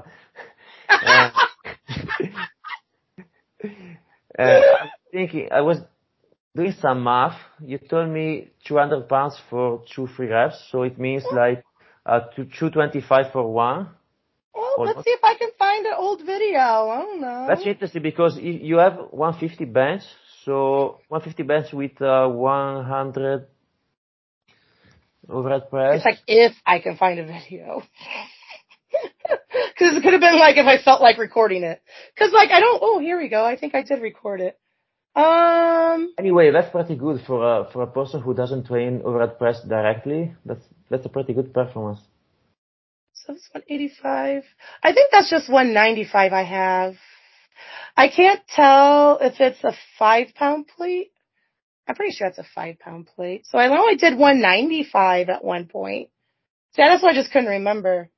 I'm thinking, I was doing some math. You told me 200 pounds for 2-3 reps, so it means like 225 for one. Well, let's see if I can find an old video. I don't know. That's interesting because you have 150 bench, so 150 bench with 100 overhead press. It's like if I can find a video. Because it could have been like if I felt like recording it. Because like here we go. I think I did record it. Anyway, that's pretty good for a person who doesn't train overhead press directly. That's a pretty good performance. So it's 185. I think that's just 195 I have. I can't tell if it's a 5-pound plate. I'm pretty sure it's a 5-pound plate. So I know I did 195 at one point. See, that's why I just couldn't remember.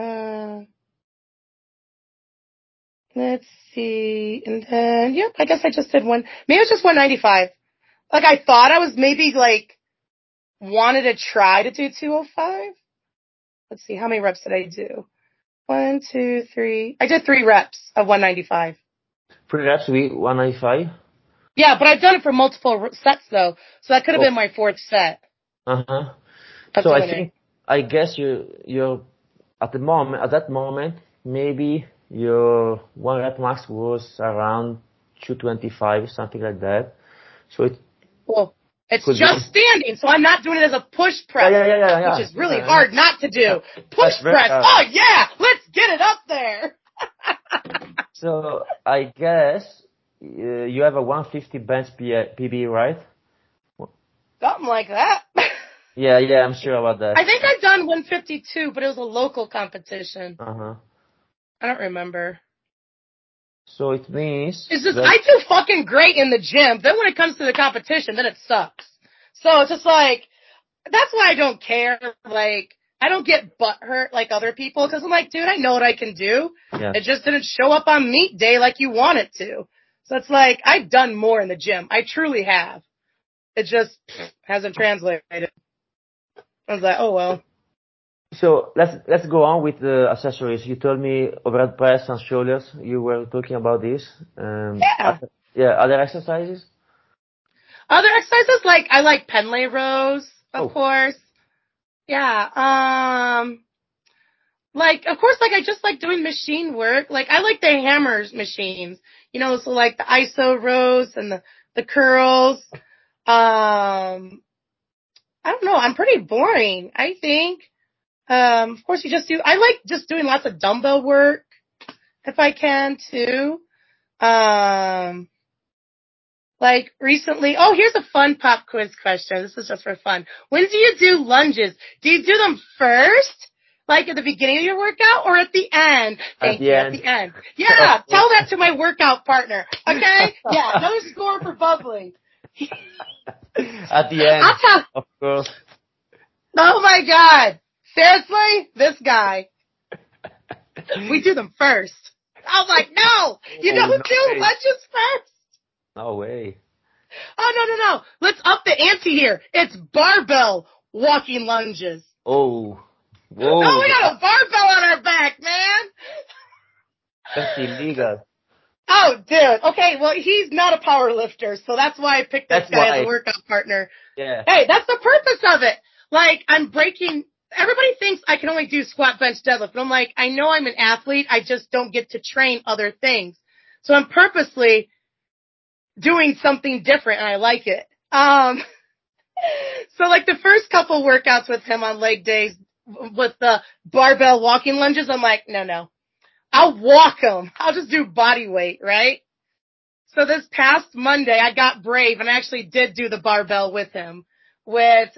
Let's see. And then, yep, I guess I just did one. Maybe it was just 195. Like I thought I was maybe like wanted to try to do 205. Let's see. How many reps did I do? 1, 2, 3. I did 3 reps of 195. 3 reps with 195? Yeah, but I've done it for multiple sets though. So that could have been my 4th set. Uh-huh. So I guess you're at that moment, maybe your 1 rep max was around 225, something like that. So it's just standing, so I'm not doing it as a push press, which is really hard not to do. Push press. Oh yeah, let's get it up there. So I guess you have a 150 bench PB, right? Something like that. Yeah, I'm sure about that. I think I've done 152, but it was a local competition. Uh-huh. I don't remember. So it means it's just I do fucking great in the gym. Then when it comes to the competition, then it sucks. So it's just like, that's why I don't care. Like, I don't get butt hurt like other people because I'm like, dude, I know what I can do. Yeah. It just didn't show up on meet day like you want it to. So it's like, I've done more in the gym. I truly have. It just hasn't translated. I was like, oh well. So let's go on with the accessories. You told me overhead press and shoulders. You were talking about this. Other exercises? Other exercises like I like Pendlay rows, of course. Yeah. Like of course, like I just like doing machine work. Like I like the hammers machines. So like the iso rows and the curls. I don't know. I'm pretty boring, I think. Of course I like just doing lots of dumbbell work if I can too. Like recently, here's a fun pop quiz question. This is just for fun. When do you do lunges? Do you do them first? Like at the beginning of your workout or at the end? Thank you, at the end. Yeah, tell that to my workout partner. Okay? Yeah, another score for Bubbly. At the end, of course. Oh my God. Seriously? This guy. We do them first. I was like, no! You don't do lunges first! No way. Oh, no. Let's up the ante here. It's barbell walking lunges. Oh. Whoa. Oh, we got a barbell on our back, man. That's illegal. Oh, dude. Okay, well, he's not a power lifter, so that's why I picked this guy as a workout partner. Yeah. Hey, that's the purpose of it. Like, everybody thinks I can only do squat, bench, deadlift, but I'm like, I know I'm an athlete, I just don't get to train other things. So I'm purposely doing something different, and I like it. So like the first couple workouts with him on leg days with the barbell walking lunges, I'm like, no. I'll walk them. I'll just do body weight, right? So this past Monday, I got brave and I actually did do the barbell with him with,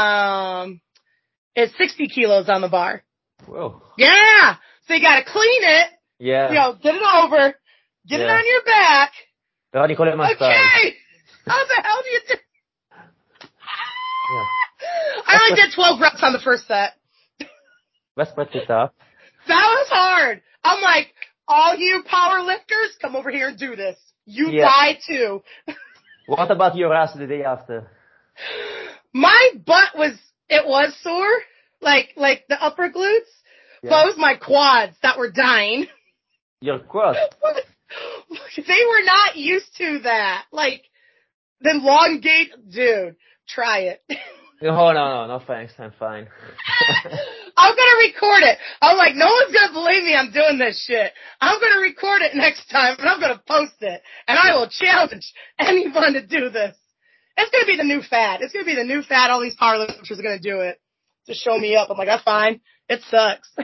it's 60 kilos on the bar. Whoa. Yeah. So you gotta clean it. Yeah. Get it over. Get it on your back. Okay. How the hell do you do? Yeah. I only did 12 reps on the first set. That's pretty tough. That was hard. I'm like, all you power lifters, come over here and do this. You die too. What about your ass the day after? My butt was sore, like the upper glutes, but it was my quads that were dying. Your quads? They were not used to that. Like, the elongate, dude, try it. No, thanks, I'm fine. I'm gonna record it. I'm like, no one's gonna believe me I'm doing this shit. I'm gonna record it next time and I'm gonna post it. And I will challenge anyone to do this. It's gonna be the new fad. It's gonna be the new fad. All these powerlifters are gonna do it. To show me up. I'm like, that's fine. It sucks.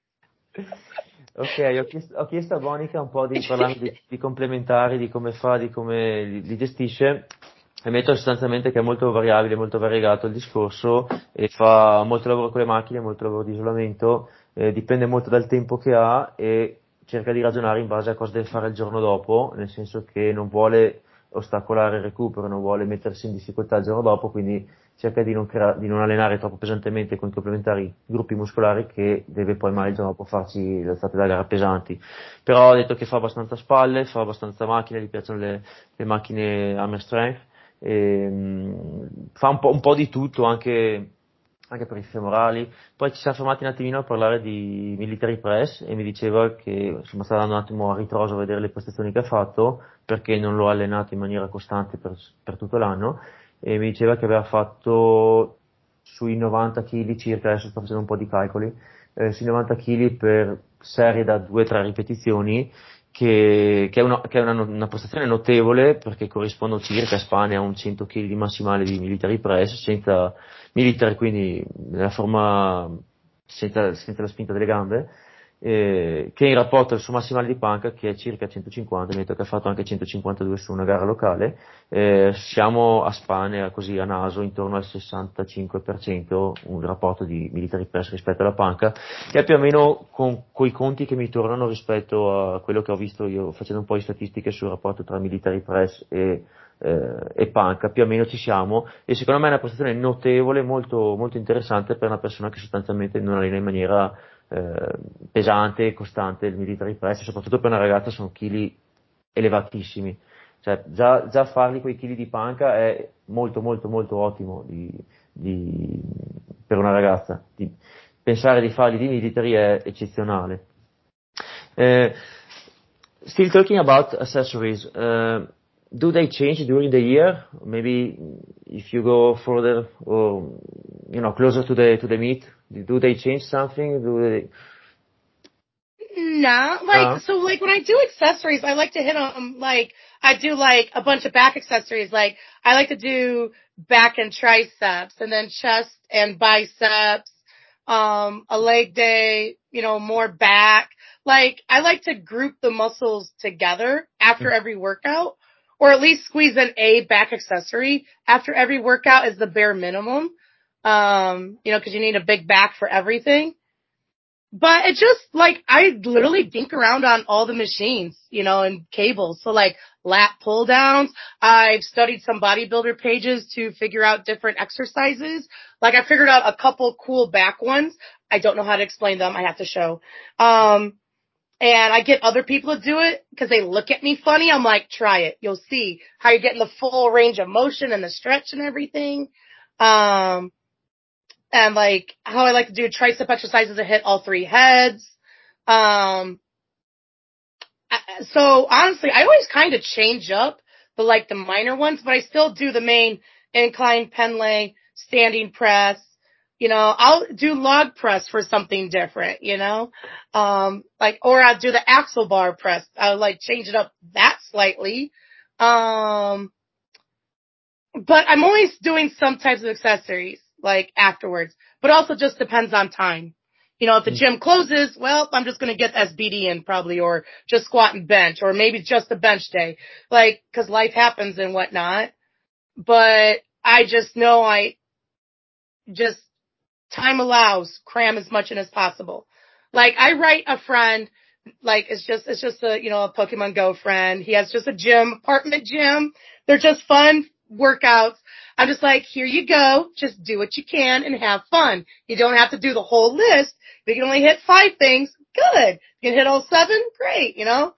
Ok, ho chiesto a Monica un po' di parlare di complementari, di come fa, di come li gestisce. Ammetto sostanzialmente che è molto variabile, molto variegato il discorso e fa molto lavoro con le macchine, molto lavoro di isolamento, dipende molto dal tempo che ha e cerca di ragionare in base a cosa deve fare il giorno dopo, nel senso che non vuole ostacolare il recupero, non vuole mettersi in difficoltà il giorno dopo, quindi cerca di non allenare troppo pesantemente con i complementari gruppi muscolari che deve poi mai il giorno dopo farci le alzate da gara pesanti. Però ha detto che fa abbastanza spalle, fa abbastanza macchine, gli piacciono le macchine Hammer Strength, fa un po' di tutto anche per i femorali. Poi ci siamo fermati un attimino a parlare di military press e mi diceva che insomma sta dando un attimo a ritroso a vedere le prestazioni che ha fatto perché non l'ho allenato in maniera costante per tutto l'anno e mi diceva che aveva fatto sui 90 kg circa, adesso sto facendo un po' di calcoli, sui 90 kg per serie da 2-3 ripetizioni che è una prestazione notevole perché corrispondono circa a Spagna a un 100 kg di massimale di military press senza military, quindi nella forma senza la spinta delle gambe, che in rapporto al suo massimale di panca che è circa 150, mi ha detto che ha fatto anche 152 su una gara locale, siamo a Spagna così a naso intorno al 65% un rapporto di military press rispetto alla panca, che è più o meno con quei conti che mi tornano rispetto a quello che ho visto io facendo un po' di statistiche sul rapporto tra military press e panca, più o meno ci siamo e secondo me è una prestazione notevole, molto, molto interessante per una persona che sostanzialmente non allena in maniera pesante e costante il military press, soprattutto per una ragazza sono chili elevatissimi, cioè già farli quei chili di panca è molto molto molto ottimo per una ragazza, pensare di farli di military è eccezionale. Still talking about accessories, do they change during the year? Maybe if you go further or closer to the meet, do they change something? No, so like when I do accessories, I like to hit on I do like a bunch of back accessories. Like I like to do back and triceps and then chest and biceps, a leg day, more back. Like I like to group the muscles together after every workout or at least squeeze in a back accessory after every workout is the bare minimum. Cause you need a big back for everything. But it just, like, I literally dink around on all the machines, and cables. So, like, lat pull downs. I've studied some bodybuilder pages to figure out different exercises. Like, I figured out a couple cool back ones. I don't know how to explain them. I have to show. And I get other people to do it because they look at me funny. I'm like, try it. You'll see how you're getting the full range of motion and the stretch and everything. And like how I like to do tricep exercises to hit all three heads. So honestly, I always kind of change up the minor ones, but I still do the main incline pen lay, standing press. I'll do log press for something different, or I'll do the axle bar press. I'll change it up that slightly. But I'm always doing some types of accessories afterwards, but also just depends on time. If the gym closes, well, I'm just going to get SBD in probably, or just squat and bench, or maybe just a bench day, cause life happens and whatnot. But I just know time allows, cram as much in as possible. I write a friend, it's just a, a Pokemon Go friend. He has just a apartment gym. They're just fun workouts. I'm just here you go. Just do what you can and have fun. You don't have to do the whole list. If you can only hit 5 things, good. If you can hit all 7, great, So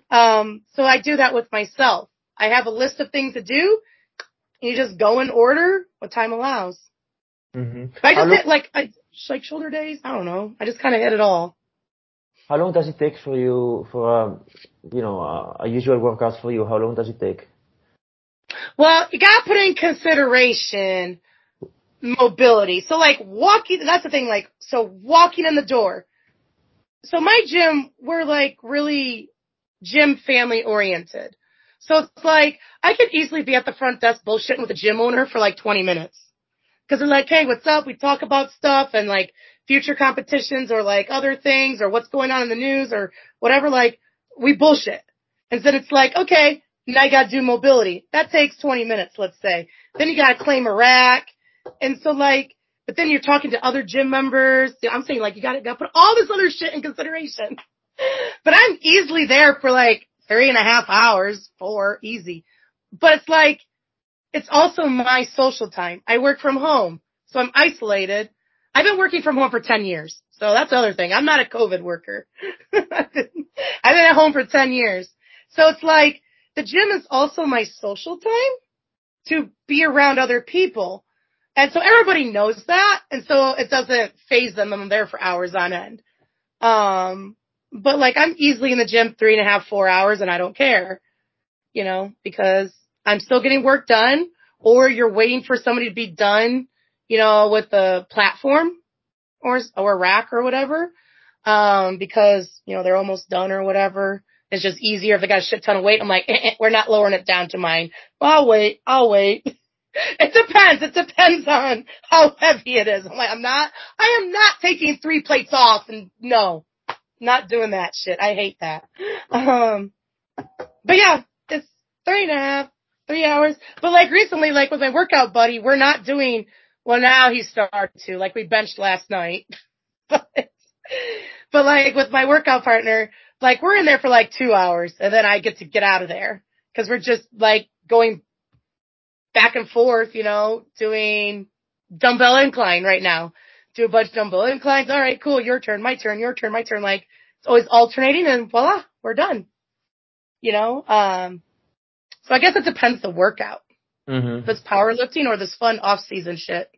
I do that with myself. I have a list of things to do. You just go in order what time allows. Mm-hmm. I just hit shoulder days. I don't know. I just kind of hit it all. How long does it take for you for a usual workout for you? How long does it take? Well, you gotta put in consideration mobility. So walking, that's the thing, walking in the door. So my gym, we're really gym family oriented. So it's I could easily be at the front desk bullshitting with the gym owner for 20 minutes. Cause they're hey, what's up? We talk about stuff and future competitions or other things or what's going on in the news or whatever, we bullshit. And then it's okay, now you gotta do mobility. That takes 20 minutes, let's say. Then you gotta claim a rack. And so but then you're talking to other gym members. I'm saying you gotta put all this other shit in consideration. But I'm easily there for 3.5 hours, 4, easy. But it's it's also my social time. I work from home, so I'm isolated. I've been working from home for 10 years. So that's the other thing. I'm not a COVID worker. I've been at home for 10 years. So it's the gym is also my social time to be around other people. And so everybody knows that. And so it doesn't faze them. I'm there for hours on end. But I'm easily in the gym 3.5, 4 hours and I don't care, because I'm still getting work done, or you're waiting for somebody to be done, with the platform or a rack or whatever. Because, they're almost done or whatever. It's just easier if they got a shit ton of weight. I'm we're not lowering it down to mine. Well, I'll wait. It depends on how heavy it is. I am not taking 3 plates off and no, not doing that shit. I hate that. But yeah, it's 3.5, 3 hours. But recently, with my workout buddy, we're not doing, well now he started to, we benched last night. But with my workout partner, we're in there for 2 hours and then I get to get out of there. Cause we're just going back and forth, doing dumbbell incline right now. Do a bunch of dumbbell inclines. All right, cool. Your turn, my turn, your turn, my turn. It's always alternating and voila, we're done. So I guess it depends the workout. Mm-hmm. If it's powerlifting or this fun off-season shit.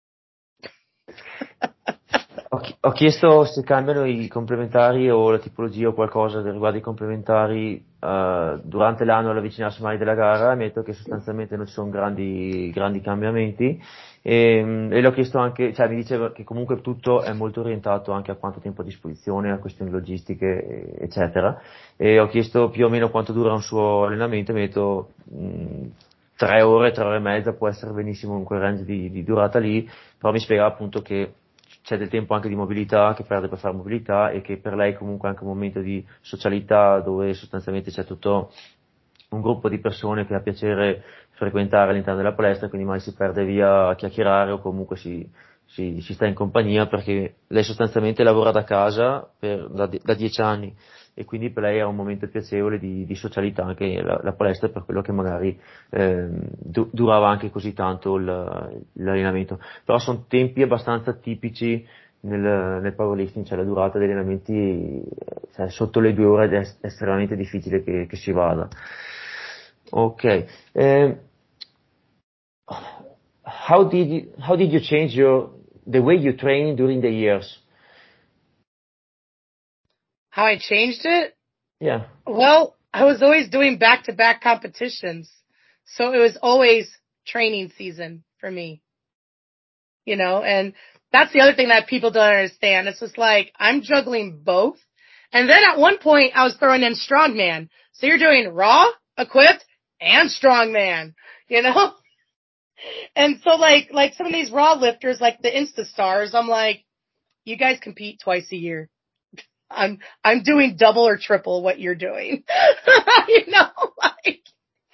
Ho chiesto se cambiano i complementari o la tipologia o qualcosa riguardo i complementari durante l'anno all'avvicinarsi mai della gara. Mi ha detto che sostanzialmente non ci sono grandi cambiamenti e le ho chiesto anche, mi diceva che comunque tutto è molto orientato anche a quanto tempo a disposizione, a questioni logistiche eccetera, e ho chiesto più o meno quanto dura un suo allenamento e mi ha detto 3 ore, 3 ore e mezza, può essere benissimo in quel range di durata lì, però mi spiega appunto che c'è del tempo anche di mobilità, che perde per fare mobilità, e che per lei comunque è anche un momento di socialità dove sostanzialmente c'è tutto un gruppo di persone che ha piacere frequentare all'interno della palestra, quindi mai si perde via a chiacchierare o comunque si sta in compagnia, perché lei sostanzialmente lavora da casa da 10 anni e quindi per lei era un momento piacevole di socialità anche la palestra, per quello che magari durava anche così tanto l'allenamento. Però sono tempi abbastanza tipici nel powerlifting, cioè la durata degli allenamenti, cioè, sotto le 2 ore è estremamente difficile che si vada. Ok. How did you change the way you train during the years? How I changed it? Yeah. Well, I was always doing back-to-back competitions. So it was always training season for me. And that's the other thing that people don't understand. It's just like, I'm juggling both. And then at one point I was throwing in strongman. So you're doing raw, equipped, and strongman, And so like some of these raw lifters, like the Insta stars, I'm like, you guys compete twice a year. I'm doing double or triple what you're doing. Like,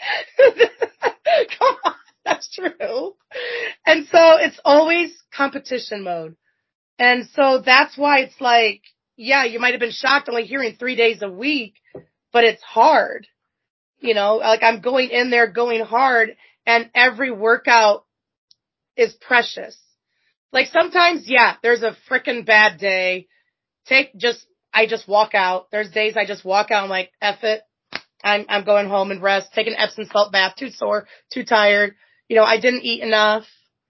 come on, that's true. And so it's always competition mode. And so that's why it's like, yeah, you might have been shocked only hearing 3 days a week, but it's hard. Like I'm going in there going hard and every workout is precious. Like sometimes, yeah, there's a frickin' bad day. I just walk out. There's days I just walk out. I'm like, F it. I'm going home and rest. Take an Epsom salt bath. Too sore, too tired. I didn't eat enough.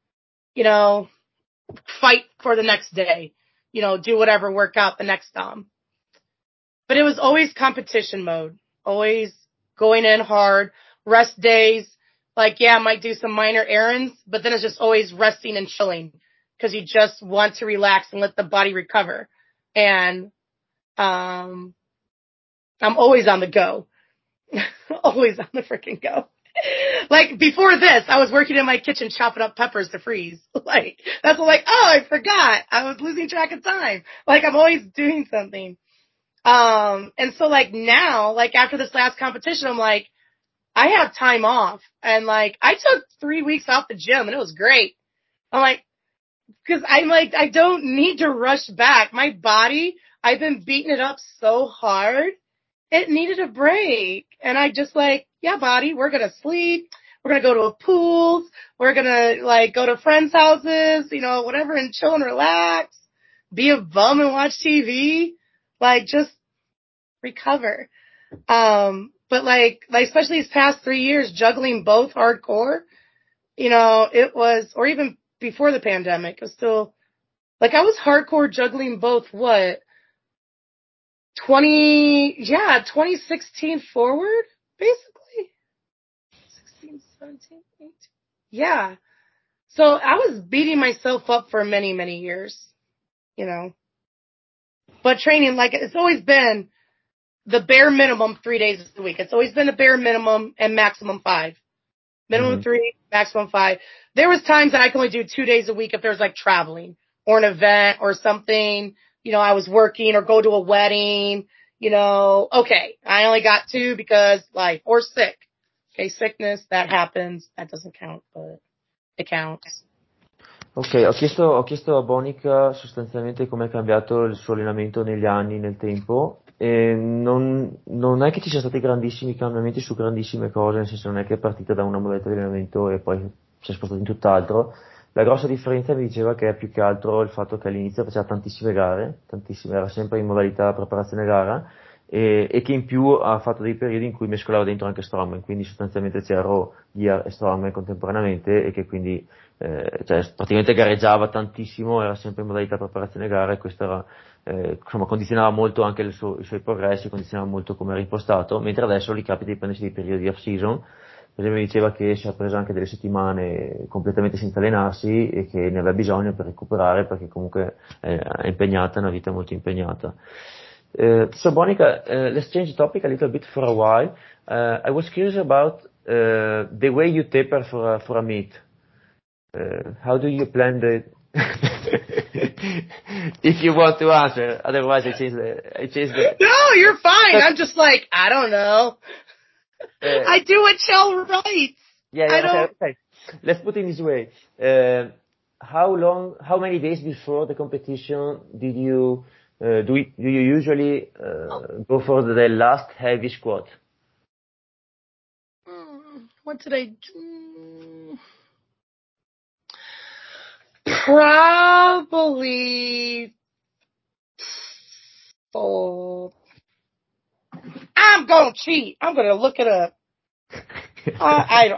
Fight for the next day. Do whatever, work out the next But it was always competition mode. Always going in hard. Rest days. Like, yeah, I might do some minor errands, but then it's just always resting and chilling because you just want to relax and let the body recover. And I'm always on the go. Always on the freaking go. Like before this, I was working in my kitchen chopping up peppers to freeze. Like that's like, oh, I forgot. I was losing track of time. Like I'm always doing something. And so like now, like after this last competition, I'm like, I have time off. And like I took 3 weeks off the gym and it was great. I'm like, cause I'm like, I don't need to rush back. My body, I've been beating it up so hard. It needed a break. And I just like, yeah, body, we're going to sleep. We're going to go to a pool. We're going to like go to friends' houses, whatever, and chill and relax, be a bum and watch TV. Like just recover. But like especially these past 3 years, juggling both hardcore, it was, or even before the pandemic, it was still like I was hardcore juggling both 2016 forward, basically. 16, 17, 18. Yeah. So I was beating myself up for many, many years, But training, like, it's always been the bare minimum 3 days a week. It's always been a bare minimum and maximum 5. Minimum 3, maximum 5. There was times that I could only do 2 days a week if there was like traveling or an event or something. I was working or go to a wedding. Okay, I only got 2 because life or sick. Okay, sickness, that happens. That doesn't count, but it counts. Ok, ho chiesto a Bonica sostanzialmente come è cambiato il suo allenamento negli anni, nel tempo, e non è che ci siano stati grandissimi cambiamenti su grandissime cose, nel senso non è che è partita da una modalità di allenamento e poi si è spostata in tutt'altro. La grossa differenza mi diceva che è più che altro il fatto che all'inizio faceva tantissime gare, era sempre in modalità preparazione gara, e che in più ha fatto dei periodi in cui mescolava dentro anche strongman, quindi sostanzialmente c'era raw, gear e strongman contemporaneamente e che quindi cioè, praticamente gareggiava tantissimo, era sempre in modalità preparazione gara e questo era, insomma, condizionava molto anche i suoi progressi, condizionava molto come era impostato, mentre adesso gli capita di prendersi dei periodi di off-season. Per esempio mi diceva che si è preso anche delle settimane completamente senza allenarsi e che ne aveva bisogno per recuperare perché comunque è impegnata, è una vita molto impegnata. So Monica, let's change the topic a little bit for a while. I was curious about the way you taper for a meet. How do you plan the? If you want to answer, otherwise I change the. No, you're fine. I'm just like, I don't know. I do what Chell writes. Okay. Let's put it this way. How many days before the competition did you do you usually go for the last heavy squat? What did I do? Probably. Oh, I'm gonna cheat. I'm gonna look it up. Like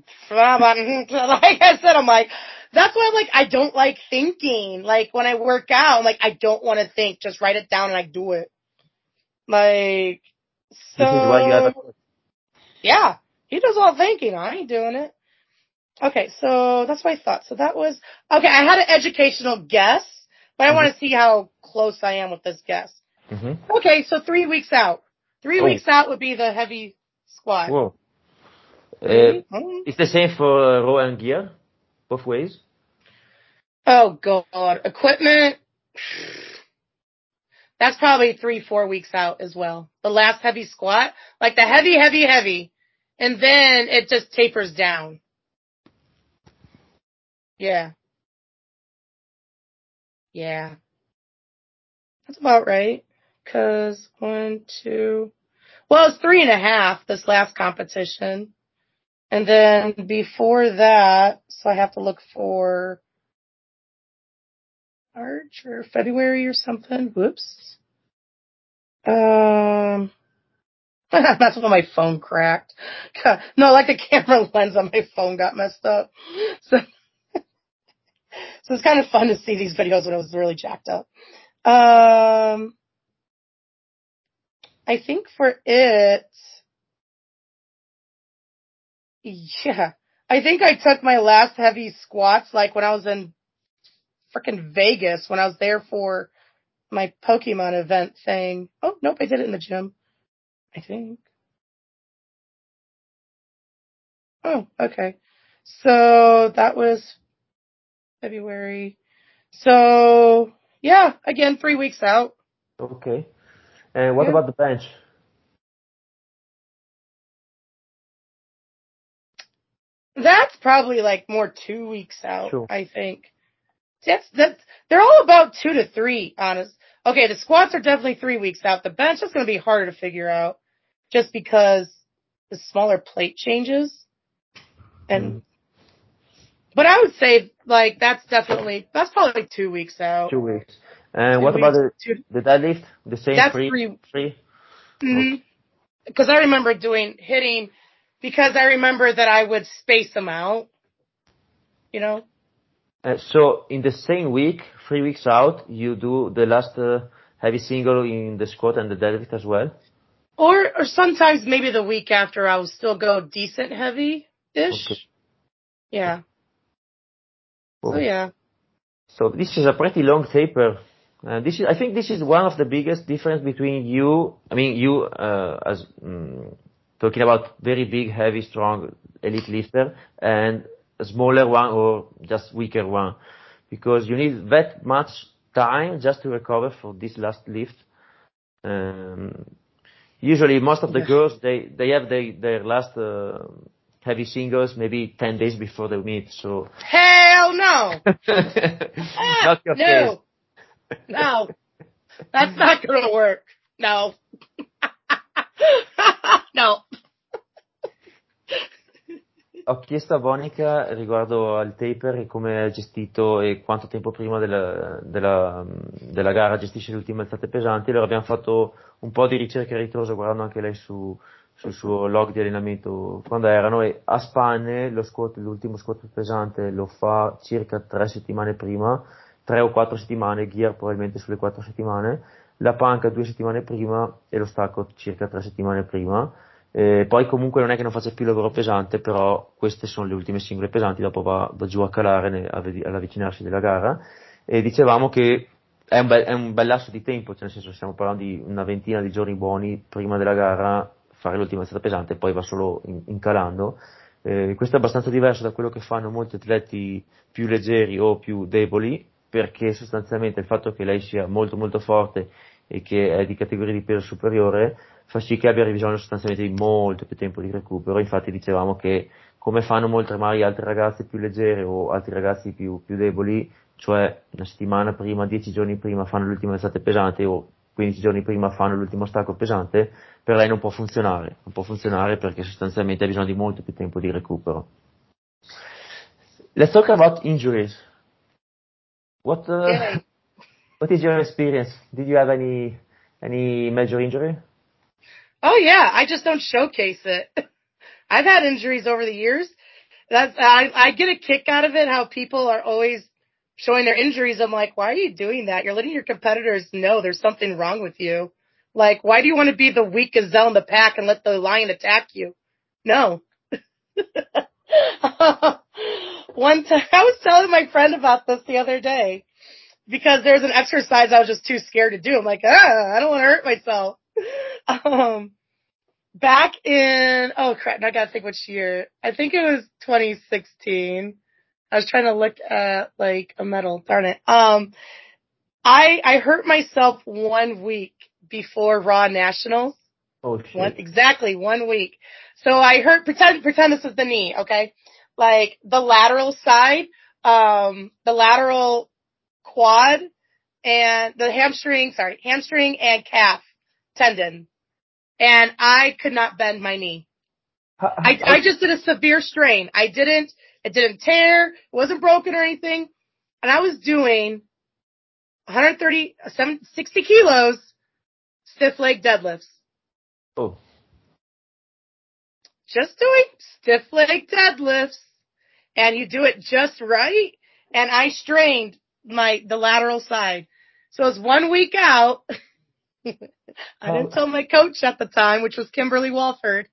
I said, I'm like, that's why I'm like, I don't like thinking. Like when I work out, I'm like, I don't want to think. Just write it down and I do it. Like, so. This is why you have a. Yeah, he does all thinking. I ain't doing it. Okay, so that's what I thought. So that was, okay, I had an educational guess, but I want to see how close I am with this guess. Okay, so 3 weeks out. 3 weeks out would be the heavy squat. Whoa. It's the same for row and gear, both ways? Oh, God. Equipment, that's probably 3-4 weeks out as well. The last heavy squat, like the heavy, and then it just tapers down. Yeah. Yeah. That's about right. Cause 1, 2, well, it's 3.5 this last competition. And then before that, so I have to look for March or February or something. Whoops. That's when my phone cracked. No, like the camera lens on my phone got messed up. So it's kind of fun to see these videos when it was really jacked up. I think for it, yeah, I think I took my last heavy squats like when I was in frickin' Vegas, when I was there for my Pokemon event thing. Oh, nope, I did it in the gym, I think. Oh, okay. So that was February. So, yeah, again, 3 weeks out. Okay. And what about the bench? That's probably like more 2 weeks out, Sure. I think. They're all about 2 to 3, honest. Okay, the squats are definitely 3 weeks out. The bench is going to be harder to figure out just because the smaller plate changes. And, but I would say like that's probably 2 weeks out. 2 weeks. And what about the deadlift? The same? That's 3? Mm-hmm. Because I remember hitting, because I remember that I would space them out, you know? So in the same week, 3 weeks out, you do the last heavy single in the squat and the deadlift as well? Or sometimes maybe the week after I will still go decent heavy-ish. Okay. Yeah. Oh. So yeah. So this is a pretty long taper. I think this is one of the biggest difference between you, as talking about very big, heavy, strong elite lifter, and a smaller one or just weaker one, because you need that much time just to recover for this last lift. Usually most of the girls, they have their last heavy singles maybe 10 days before they meet, so. Hell no! Not your case. No. That's not gonna work. No. No. Ho chiesto a Bonica riguardo al taper e come è gestito e quanto tempo prima della gara gestisce le ultime alzate pesanti. Allora abbiamo fatto un po' di ricerca a ritroso guardando anche lei sul suo log di allenamento quando erano, e a spanne l'ultimo squat pesante lo fa circa 3 settimane prima, 3 o 4 settimane, gear probabilmente sulle 4 settimane, la panca 2 settimane prima e lo stacco circa 3 settimane prima. Poi comunque non è che non faccia più lavoro pesante, però queste sono le ultime singole pesanti, dopo va giù a calare all'avvicinarsi della gara, e dicevamo che è un bel lasso di tempo, cioè nel senso stiamo parlando di una ventina di giorni buoni prima della gara, fare l'ultima alzata pesante e poi va solo incalando. Questo è abbastanza diverso da quello che fanno molti atleti più leggeri o più deboli, perché sostanzialmente il fatto che lei sia molto molto forte e che è di categoria di peso superiore fa sì che abbia bisogno sostanzialmente di molto più tempo di recupero. Infatti dicevamo che come fanno molte magari altre ragazze più leggere o altri ragazzi più deboli, cioè una settimana prima, 10 giorni prima fanno l'ultima alzata pesante o 15 giorni prima fanno l'ultimo stacco pesante, per lei non può funzionare perché sostanzialmente ha bisogno di molto più tempo di recupero. Let's talk about injuries. What what is your experience? Did you have any major injury? Oh yeah, I just don't showcase it. I've had injuries over the years. I get a kick out of it how people are always showing their injuries. I'm like, why are you doing that? You're letting your competitors know there's something wrong with you. Like, why do you want to be the weak gazelle in the pack and let the lion attack you? No. One time, I was telling my friend about this the other day because there's an exercise I was just too scared to do. I'm like, I don't want to hurt myself. Back in, oh crap, now I gotta think which year. I think it was 2016. I was trying to look at like a medal, darn it. I hurt myself 1 week before Raw Nationals. Oh shit. Exactly 1 week. So I hurt, pretend this is the knee, okay? Like the lateral side, the lateral quad and the hamstring and calf tendon. And I could not bend my knee. I just did a severe strain. It didn't tear, it wasn't broken or anything. And I was doing 60 kilos stiff leg deadlifts. Oh. Just doing stiff leg deadlifts. And you do it just right. And I strained the lateral side. So it was 1 week out. I didn't tell my coach at the time, which was Kimberly Walford.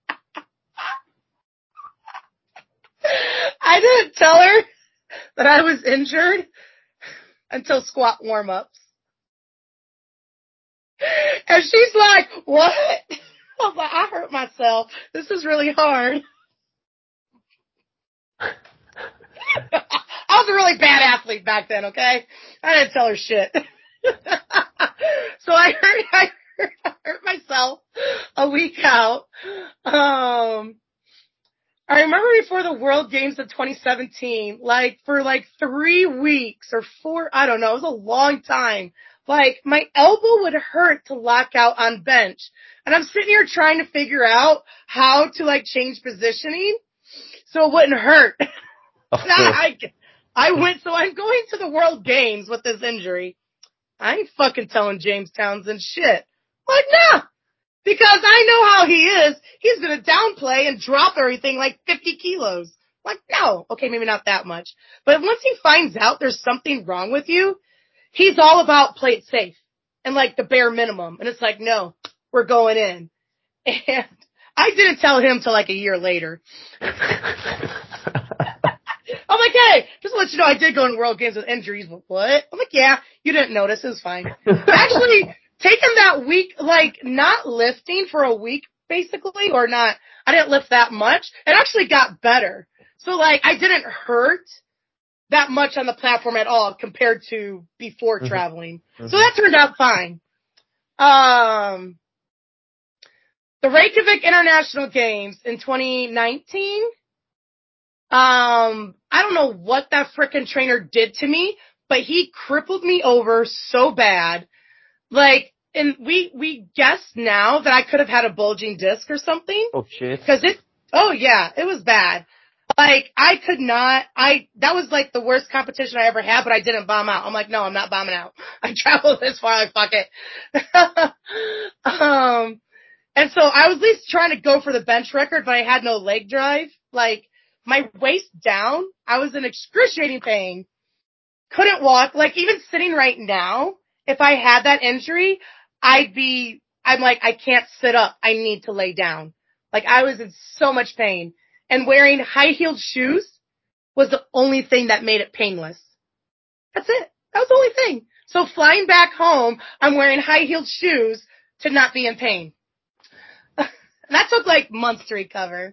I didn't tell her that I was injured until squat warm-ups. And she's like, what? I was like, I hurt myself. This is really hard. I was a really bad athlete back then, okay? I didn't tell her shit. So I hurt myself a week out. I remember before the World Games of 2017, like for like 3 weeks or 4, I don't know, it was a long time. Like my elbow would hurt to lock out on bench. And I'm sitting here trying to figure out how to like change positioning so it wouldn't hurt. So I'm going to the World Games with this injury. I ain't fucking telling James Townsend shit. Like, nah. Because I know how he is. He's going to downplay and drop everything like 50 kilos. Like, no. Okay, maybe not that much. But once he finds out there's something wrong with you, he's all about play it safe and like the bare minimum. And it's like, no, we're going in. And I didn't tell him till like a year later. I'm like, hey, just to let you know, I did go in World Games with injuries, but what? I'm like, yeah, you didn't notice. It was fine. Actually, taking that week, like, not lifting for a week, basically, or not, I didn't lift that much. It actually got better. So, like, I didn't hurt that much on the platform at all compared to before traveling. So that turned out fine. The Reykjavik International Games in 2019, I don't know what that frickin' trainer did to me, but he crippled me over so bad. Like, and we guess now that I could have had a bulging disc or something. Oh shit. Oh yeah, it was bad. Like, I could not, that was like the worst competition I ever had, but I didn't bomb out. I'm like, no, I'm not bombing out. I traveled this far, like, fuck it. And so I was at least trying to go for the bench record, but I had no leg drive. Like, my waist down, I was in excruciating pain. Couldn't walk. Like, even sitting right now, if I had that injury, I'm like, I can't sit up. I need to lay down. Like, I was in so much pain. And wearing high-heeled shoes was the only thing that made it painless. That's it. That was the only thing. So flying back home, I'm wearing high-heeled shoes to not be in pain. And that took like months to recover.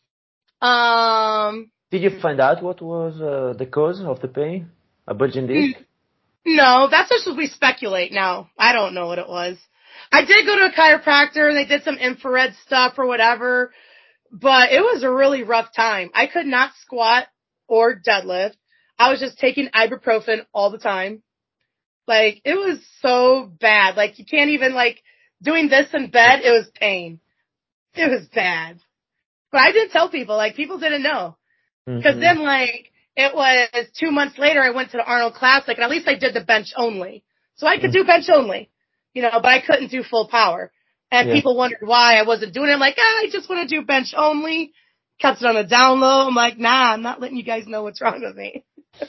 Did you find out what was the cause of the pain? A bulging disc? No, that's just what we speculate now. I don't know what it was. I did go to a chiropractor and they did some infrared stuff or whatever, but it was a really rough time. I could not squat or deadlift. I was just taking ibuprofen all the time. Like, it was so bad. Like, you can't even, like, doing this in bed, it was pain. It was bad. But I didn't tell people. Like, people didn't know. Because then, like, it was 2 months later, I went to the Arnold Classic, and at least I did the bench only. So I could do bench only, but I couldn't do full power. And people wondered why I wasn't doing it. I'm like, I just want to do bench only. Kept it on the down low. I'm like, nah, I'm not letting you guys know what's wrong with me.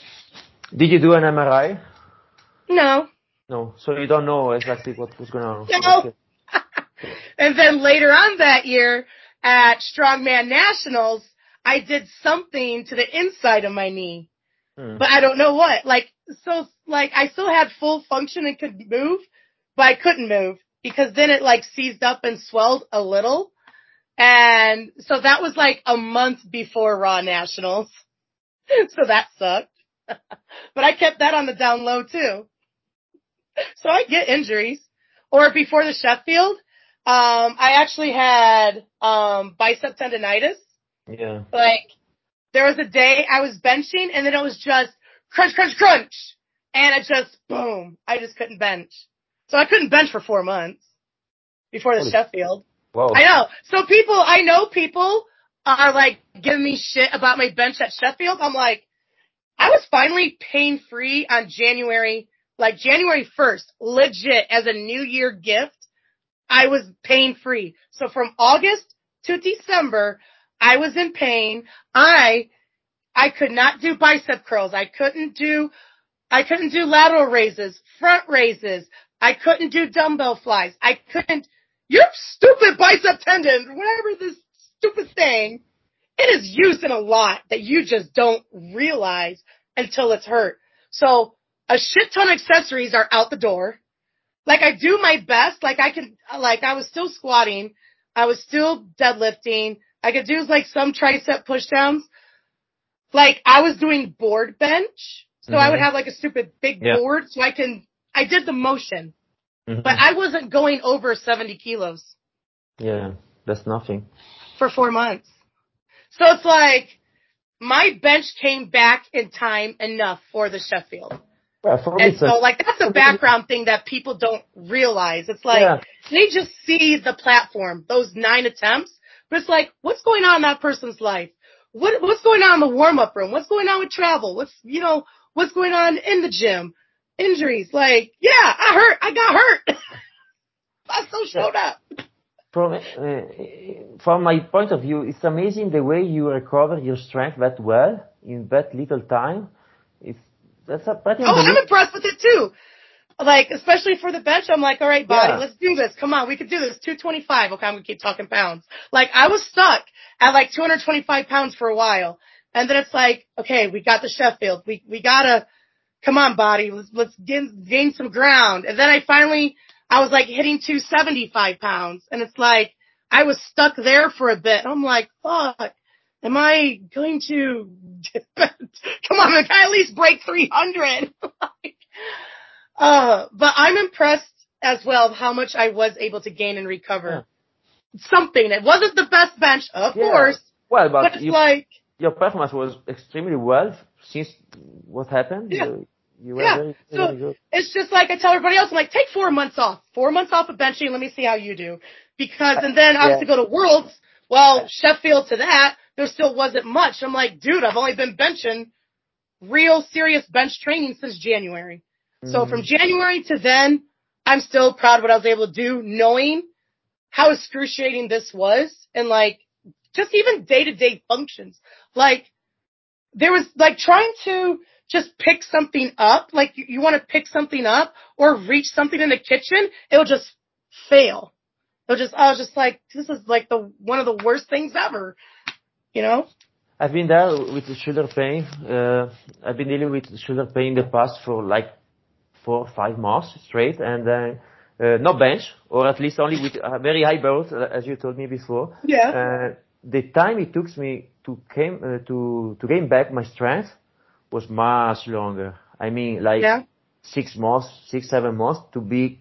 Did you do an MRI? No. No, so you don't know exactly what was going on. No. Okay. And then later on that year at Strongman Nationals, I did something to the inside of my knee. But I don't know what. Like, I still had full function and could move, but I couldn't move because then it, like, seized up and swelled a little. And so that was, like, a month before Raw Nationals. So that sucked. But I kept that on the down low, too. So I get injuries. Or before the Sheffield, I actually had bicep tendonitis. Yeah. Like, there was a day I was benching, and then it was just crunch, crunch, crunch. And it just, boom, I just couldn't bench. So I couldn't bench for 4 months before the Sheffield. Wow. I know. So I know people are, like, giving me shit about my bench at Sheffield. I'm like, I was finally pain-free on January 1st, legit, as a New Year gift. I was pain-free. So from August to December, I was in pain. I could not do bicep curls. I couldn't do lateral raises, front raises. I couldn't do dumbbell flies. Your stupid bicep tendon, whatever this stupid thing, it is used in a lot that you just don't realize until it's hurt. So a shit ton of accessories are out the door. Like, I do my best. Like, I was still squatting. I was still deadlifting. I could do, like, some tricep pushdowns. Like, I was doing board bench. So I would have, like, a stupid big board. So I did the motion. But I wasn't going over 70 kilos. Yeah, that's nothing. For 4 months. So it's like, my bench came back in time enough for the Sheffield. Well, and so, like, that's a background thing that people don't realize. It's like, they just see the platform, those 9 attempts, but it's like, what's going on in that person's life? What's going on in the warm-up room? What's going on with travel? What's going on in the gym? Injuries. Like, I got hurt. I still showed up. From my point of view, it's amazing the way you recover your strength that well in that little time. That's a pretty unbelievable. I'm impressed with it too. Like, especially for the bench, I'm like, all right, body, let's do this. Come on, we can do this. 225. Okay, I'm gonna keep talking pounds. Like, I was stuck at like 225 pounds for a while. And then it's like, okay, we got the Sheffield. We gotta, come on, body, let's gain some ground. And then I was like hitting 275 pounds. And it's like, I was stuck there for a bit. I'm like, fuck. Am I going to, come on, can I at least break 300? But I'm impressed as well how much I was able to gain and recover. Something. It wasn't the best bench, of course. Well, but it's like, your performance was extremely well since what happened. Yeah. You were very good. It's just like I tell everybody else, I'm like, take 4 months off. 4 months off of benching, let me see how you do. And then obviously go to Worlds. Well, Sheffield to that, there still wasn't much. I'm like, dude, I've only been benching real serious bench training since January. So from January to then, I'm still proud of what I was able to do, knowing how excruciating this was and, like, just even day-to-day functions. Like, there was, like, trying to just pick something up, like you want to pick something up or reach something in the kitchen, it'll just fail. I was just like, this is like one of the worst things ever, I've been there with the shoulder pain. I've been dealing with shoulder pain in the past for like 4 or 5 months straight, and no bench, or at least only with very high bars, as you told me before. Yeah. The time it took me to gain back my strength was much longer. I mean, 6 months, 6, 7 months to be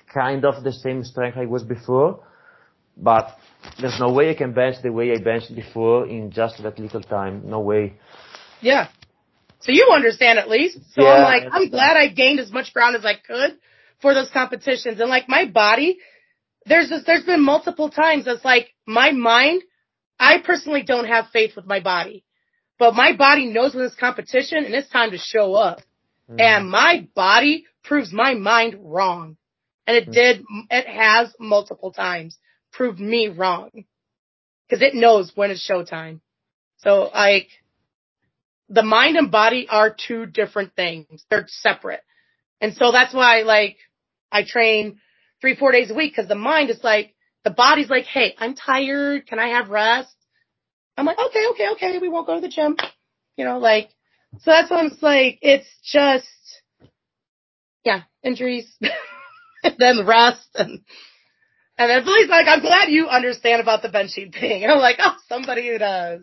kind of the same strength I was before, but there's no way I can bench the way I benched before in just that little time. No way. Yeah. So you understand at least. So yeah, I'm glad I gained as much ground as I could for those competitions. And my body, there's been multiple times that's my mind, I personally don't have faith with my body. But my body knows when it's competition and it's time to show up. Mm. And my body proves my mind wrong. And it has multiple times proved me wrong. Because it knows when it's showtime. So, the mind and body are two different things. They're separate. And so that's why, I train 3-4 days a week, because the mind is the body's hey, I'm tired. Can I have rest? I'm okay. We won't go to the gym. So that's why it's just, yeah, injuries, and then rest, and then Billy's I'm glad you understand about the benching thing. And I'm somebody who does.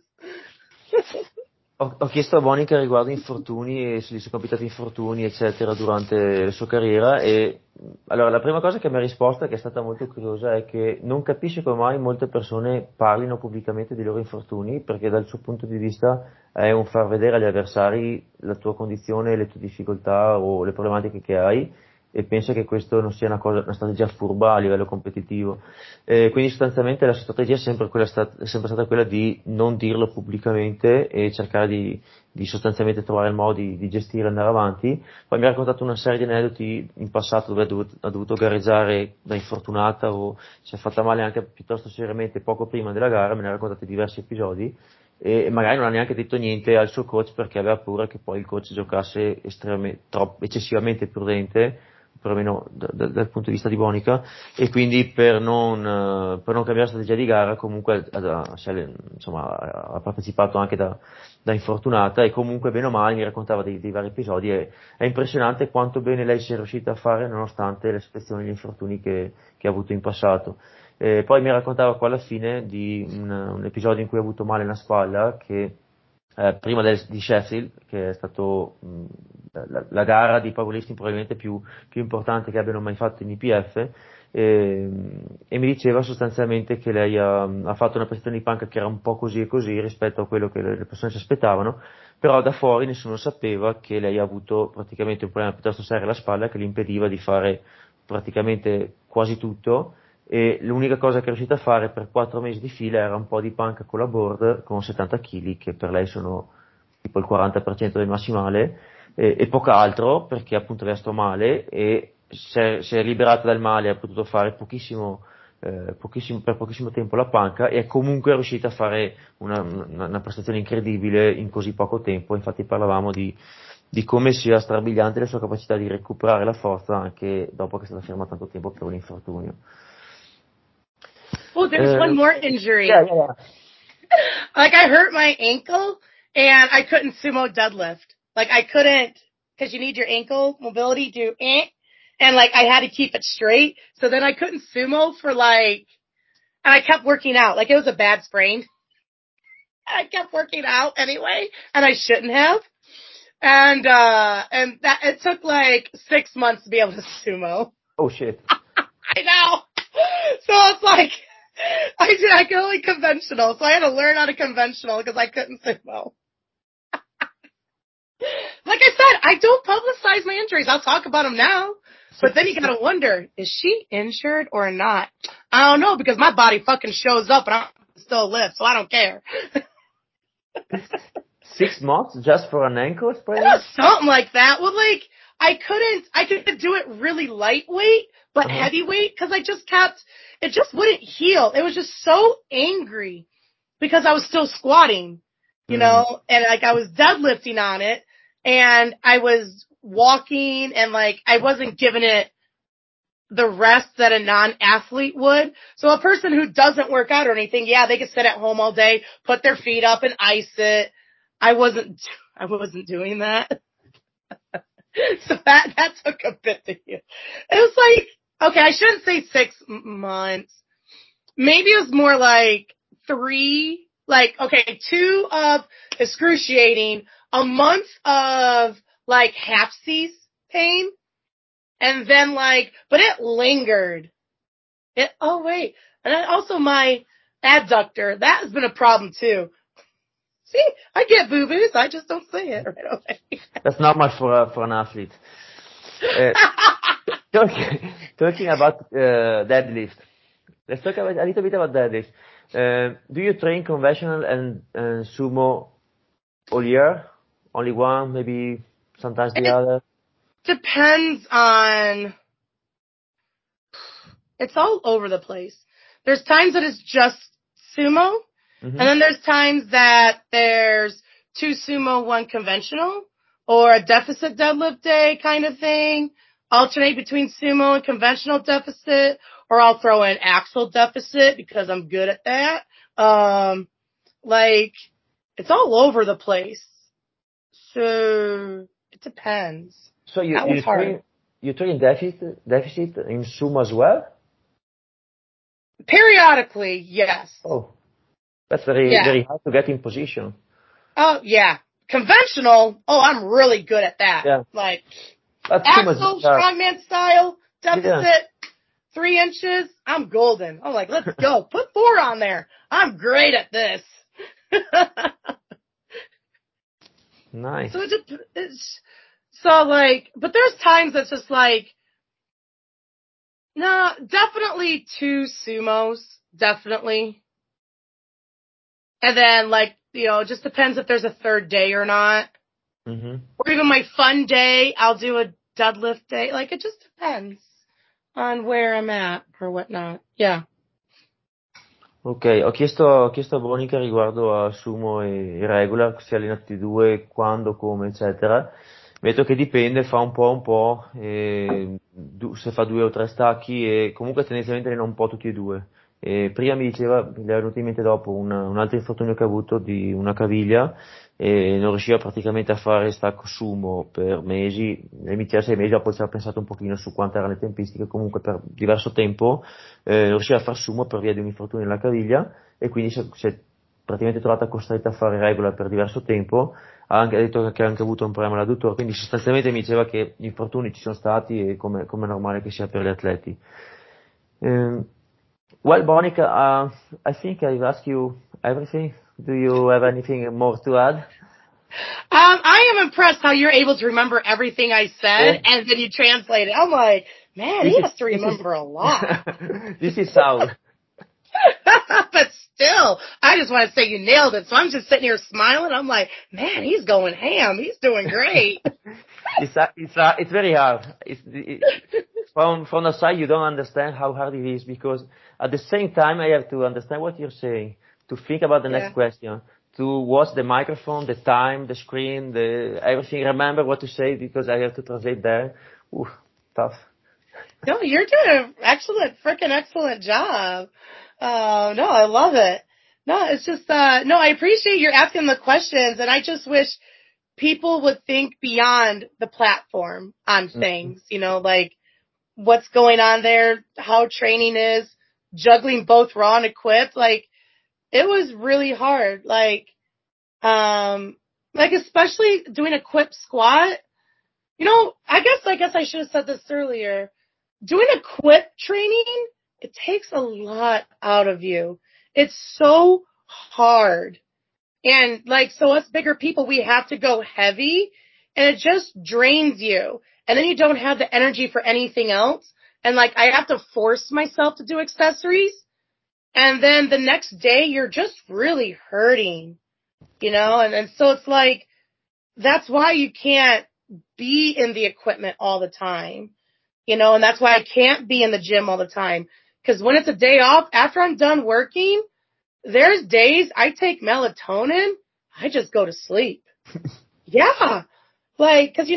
Ho chiesto a Monica riguardo infortuni e se gli sono capitati infortuni eccetera durante la sua carriera, e allora la prima cosa che mi ha risposto, che è stata molto curiosa, è che non capisce come mai molte persone parlino pubblicamente dei loro infortuni, perché dal suo punto di vista è un far vedere agli avversari la tua condizione, le tue difficoltà o le problematiche che hai, e pensa che questo non sia una strategia furba a livello competitivo. Quindi sostanzialmente la strategia è sempre stata quella di non dirlo pubblicamente e cercare di sostanzialmente trovare il modo di gestire e andare avanti. Poi mi ha raccontato una serie di aneddoti in passato dove ha dovuto gareggiare da infortunata o si è fatta male anche piuttosto seriamente poco prima della gara, me ne ha raccontato diversi episodi, e magari non ha neanche detto niente al suo coach perché aveva paura che poi il coach giocasse eccessivamente prudente, perlomeno dal punto di vista di Monica, e quindi per non cambiare strategia di gara comunque ha partecipato anche da infortunata, e comunque bene o male mi raccontava dei vari episodi, e è impressionante quanto bene lei sia riuscita a fare nonostante le situazioni e gli infortuni che ha avuto in passato. Poi mi raccontava qua alla fine di un episodio in cui ha avuto male una spalla, che prima di Sheffield, che è stato la gara di powerlifting probabilmente più importante che abbiano mai fatto in IPF, e mi diceva sostanzialmente che lei ha fatto una prestazione di panca che era un po' così e così rispetto a quello che le persone si aspettavano, però da fuori nessuno sapeva che lei ha avuto praticamente un problema piuttosto serio alla spalla che le impediva di fare praticamente quasi tutto, e l'unica cosa che è riuscita a fare per 4 mesi di fila era un po' di panca con la board con 70 kg, che per lei sono tipo il 40% del massimale, e poca altro, perché appunto aveva sto male e si è liberata dal male, ha potuto fare per pochissimo tempo la panca, e è comunque riuscita a fare una prestazione incredibile in così poco tempo. Infatti parlavamo di come sia strabiliante la sua capacità di recuperare la forza anche dopo che è stata ferma tanto tempo per un infortunio. Oh, there's one more injury. Yeah. I hurt my ankle and I couldn't sumo deadlift. I couldn't, because you need your ankle mobility to and I had to keep it straight. So then I couldn't sumo and I kept working out. It was a bad sprain. I kept working out anyway, and I shouldn't have. And that, it took 6 months to be able to sumo. Oh shit. I know. So it's I could only conventional, so I had to learn how to conventional because I couldn't sumo. Like I said, I don't publicize my injuries. I'll talk about them now. But then you gotta wonder, is she injured or not? I don't know, because my body fucking shows up and I still live, so I don't care. 6 months just for an ankle sprain? Something like that. Well, I could do it really lightweight, but heavyweight, because it just wouldn't heal. It was just so angry because I was still squatting, you know, and I was deadlifting on it, and I was walking, and I wasn't giving it the rest that a non-athlete would. So a person who doesn't work out or anything, yeah, they could sit at home all day, put their feet up and ice it. I wasn't doing that. So that took a bit to heal. It was okay, I shouldn't say 6 months. Maybe it was more 3, 2 of excruciating, a month of half-cease pain, And then but it lingered. And then also my adductor, that has been a problem too. See, I get boo-boos, I just don't say it right away. That's not much for an athlete. Talking about deadlift. Let's talk a little bit about deadlift. Do you train conventional and sumo all year? Only one, maybe sometimes the other? Depends on... It's all over the place. There's times that it's just sumo, and then there's times that there's 2 sumo, 1 conventional, or a deficit deadlift day kind of thing. Alternate between sumo and conventional deficit, or I'll throw in axle deficit because I'm good at that. It's all over the place. So it depends. So you train deficit in sumo as well? Periodically, yes. Oh, that's very hard to get in position. Oh, yeah. Conventional, I'm really good at that. Yeah. Axel, strongman style, deficit, 3 inches, I'm golden. I'm like, let's go. Put 4 on there. I'm great at this. Nice. But there's times that's just no, definitely 2 sumos, definitely. And then it just depends if there's a third day or not. Mm-hmm. Or even my fun day, I'll do a deadlift day. It just depends on where I'm at or whatnot. Yeah. Ok, ho chiesto a Bonica riguardo a sumo e regular, si allenano tutti e due, quando, come, eccetera. Mi ha detto che dipende, fa un po', se fa 2 o 3 stacchi e comunque tendenzialmente allena un po' tutti e due. E prima mi diceva, mi è venuto in mente dopo un altro infortunio che ha avuto di una caviglia e non riusciva praticamente a fare stacco sumo per mesi, all'inizio 6 mesi, dopo ci ha pensato un pochino su quante erano le tempistiche, comunque per diverso tempo non riusciva a fare sumo per via di un infortunio nella caviglia e quindi si è praticamente trovata costretta a fare regular per diverso tempo. Ha detto che ha anche avuto un problema all'adduttore, quindi sostanzialmente mi diceva che gli infortuni ci sono stati e come è normale che sia per gli atleti. Well, Monica, I think I've asked you everything. Do you have anything more to add? I am impressed how you're able to remember everything I said and then you translate it. I'm like, man, he has to remember a lot. This is how. But still, I just want to say you nailed it. So I'm just sitting here smiling. I'm like, man, he's going ham. He's doing great. It's very hard. From the side, you don't understand how hard it is because at the same time, I have to understand what you're saying, to think about the next question, to watch the microphone, the time, the screen, everything. Remember what to say because I have to translate there. Ooh, tough. No, you're doing an excellent job. No, I love it. No, it's just, no, I appreciate you asking the questions, and I just wish people would think beyond the platform on things, what's going on there, how training is, juggling both raw and equipped. It was really hard. Especially doing equipped squat. I guess I should have said this earlier. Doing equipped training, it takes a lot out of you. It's so hard. And so us bigger people, we have to go heavy and it just drains you. And then you don't have the energy for anything else. And I have to force myself to do accessories. And then the next day you're just really hurting, and so it's that's why you can't be in the equipment all the time, and that's why I can't be in the gym all the time. Because when it's a day off, after I'm done working, there's days I take melatonin, I just go to sleep. Yeah. Cause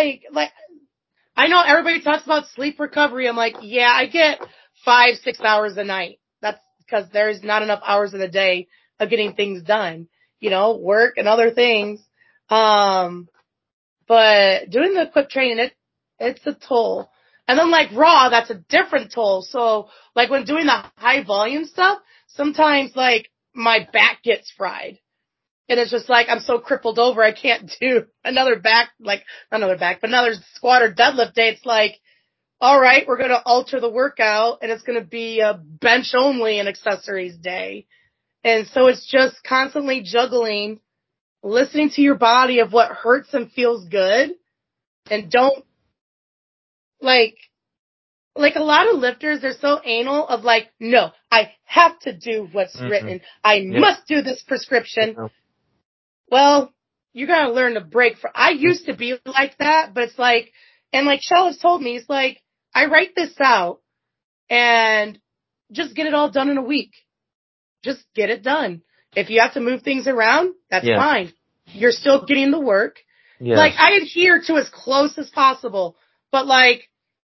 I know everybody talks about sleep recovery. I'm like, yeah, I get 5-6 hours a night. That's because there's not enough hours in the day of getting things done, work and other things. But doing the equipped training, it's a toll. And then raw, that's a different toll. So when doing the high volume stuff, sometimes my back gets fried. And it's just I'm so crippled over, I can't do another squat or deadlift day. It's all right, we're going to alter the workout and it's going to be a bench only and accessories day. And so it's just constantly juggling, listening to your body of what hurts and feels good. And don't, like a lot of lifters, they're so anal of like, no, I have to do what's written. I must do this prescription. Well, you got to learn to break I used to be like that, but it's like, and like Shell has told me, it's like, I write this out and just get it all done in a week. Just get it done. If you have to move things around, that's fine. You're still getting the work. Yes. Like, I adhere to as close as possible, but like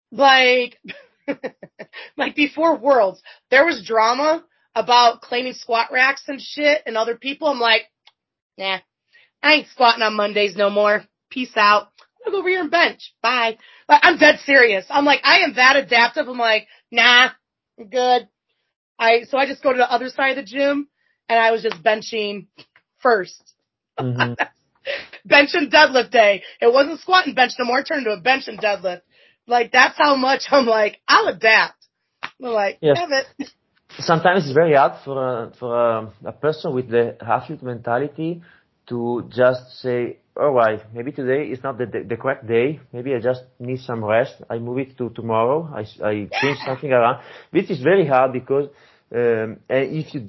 before Worlds, there was drama about claiming squat racks and shit and other people. I'm like, nah, I ain't squatting on Mondays no more. Peace out. I'm gonna go over here and bench. Bye. Like, I'm dead serious. I'm like, I am that adaptive. I'm like, nah, I'm good. So I just go to the other side of the gym and I was just benching first. Mm-hmm. Bench and deadlift day. It wasn't squat and bench no more. It turned into a bench and deadlift. Like, that's how much I'm like, I'll adapt. I'm like, damn it. Sometimes it's very hard for a person with the athlete mentality to just say, all right, maybe today is not the correct day. Maybe I just need some rest. I move it to tomorrow. I change something around. This is very hard because if you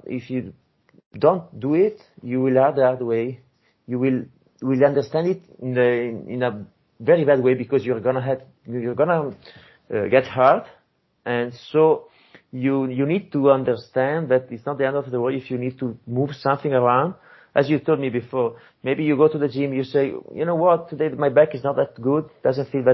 don't do it, you will have the hard way. You will understand it in a very bad way because you're gonna get hurt, and so you need to understand that it's not the end of the world if you need to move something around. As you told me before, maybe you go to the gym, you say, you know what, today my back is not that good, doesn't feel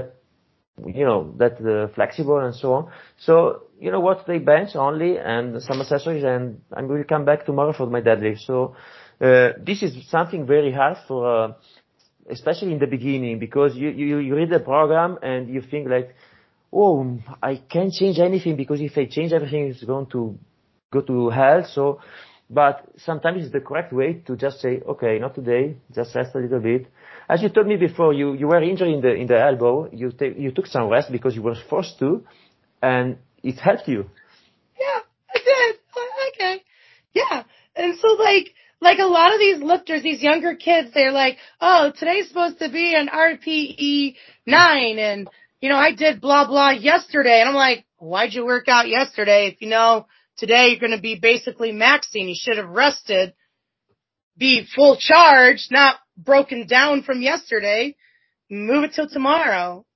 that flexible and so on. So, you know what, today bench only and some accessories and I will come back tomorrow for my deadlift. So, this is something very hard for, especially in the beginning, because you read the program and you think like, oh, I can't change anything because if I change everything, it's going to go to hell. So, but sometimes it's the correct way to just say, okay, not today, just rest a little bit. As you told me before, you were injured in the elbow. You took some rest because you were forced to, and it helped you. Yeah, I did. Okay. Yeah. And so like a lot of these lifters, these younger kids, they're like, oh, today's supposed to be an RPE 9 and, I did blah, blah yesterday. And I'm like, why'd you work out yesterday if you know today you're going to be basically maxing? You should have rested, be full charge, not broken down from yesterday. Move it till tomorrow.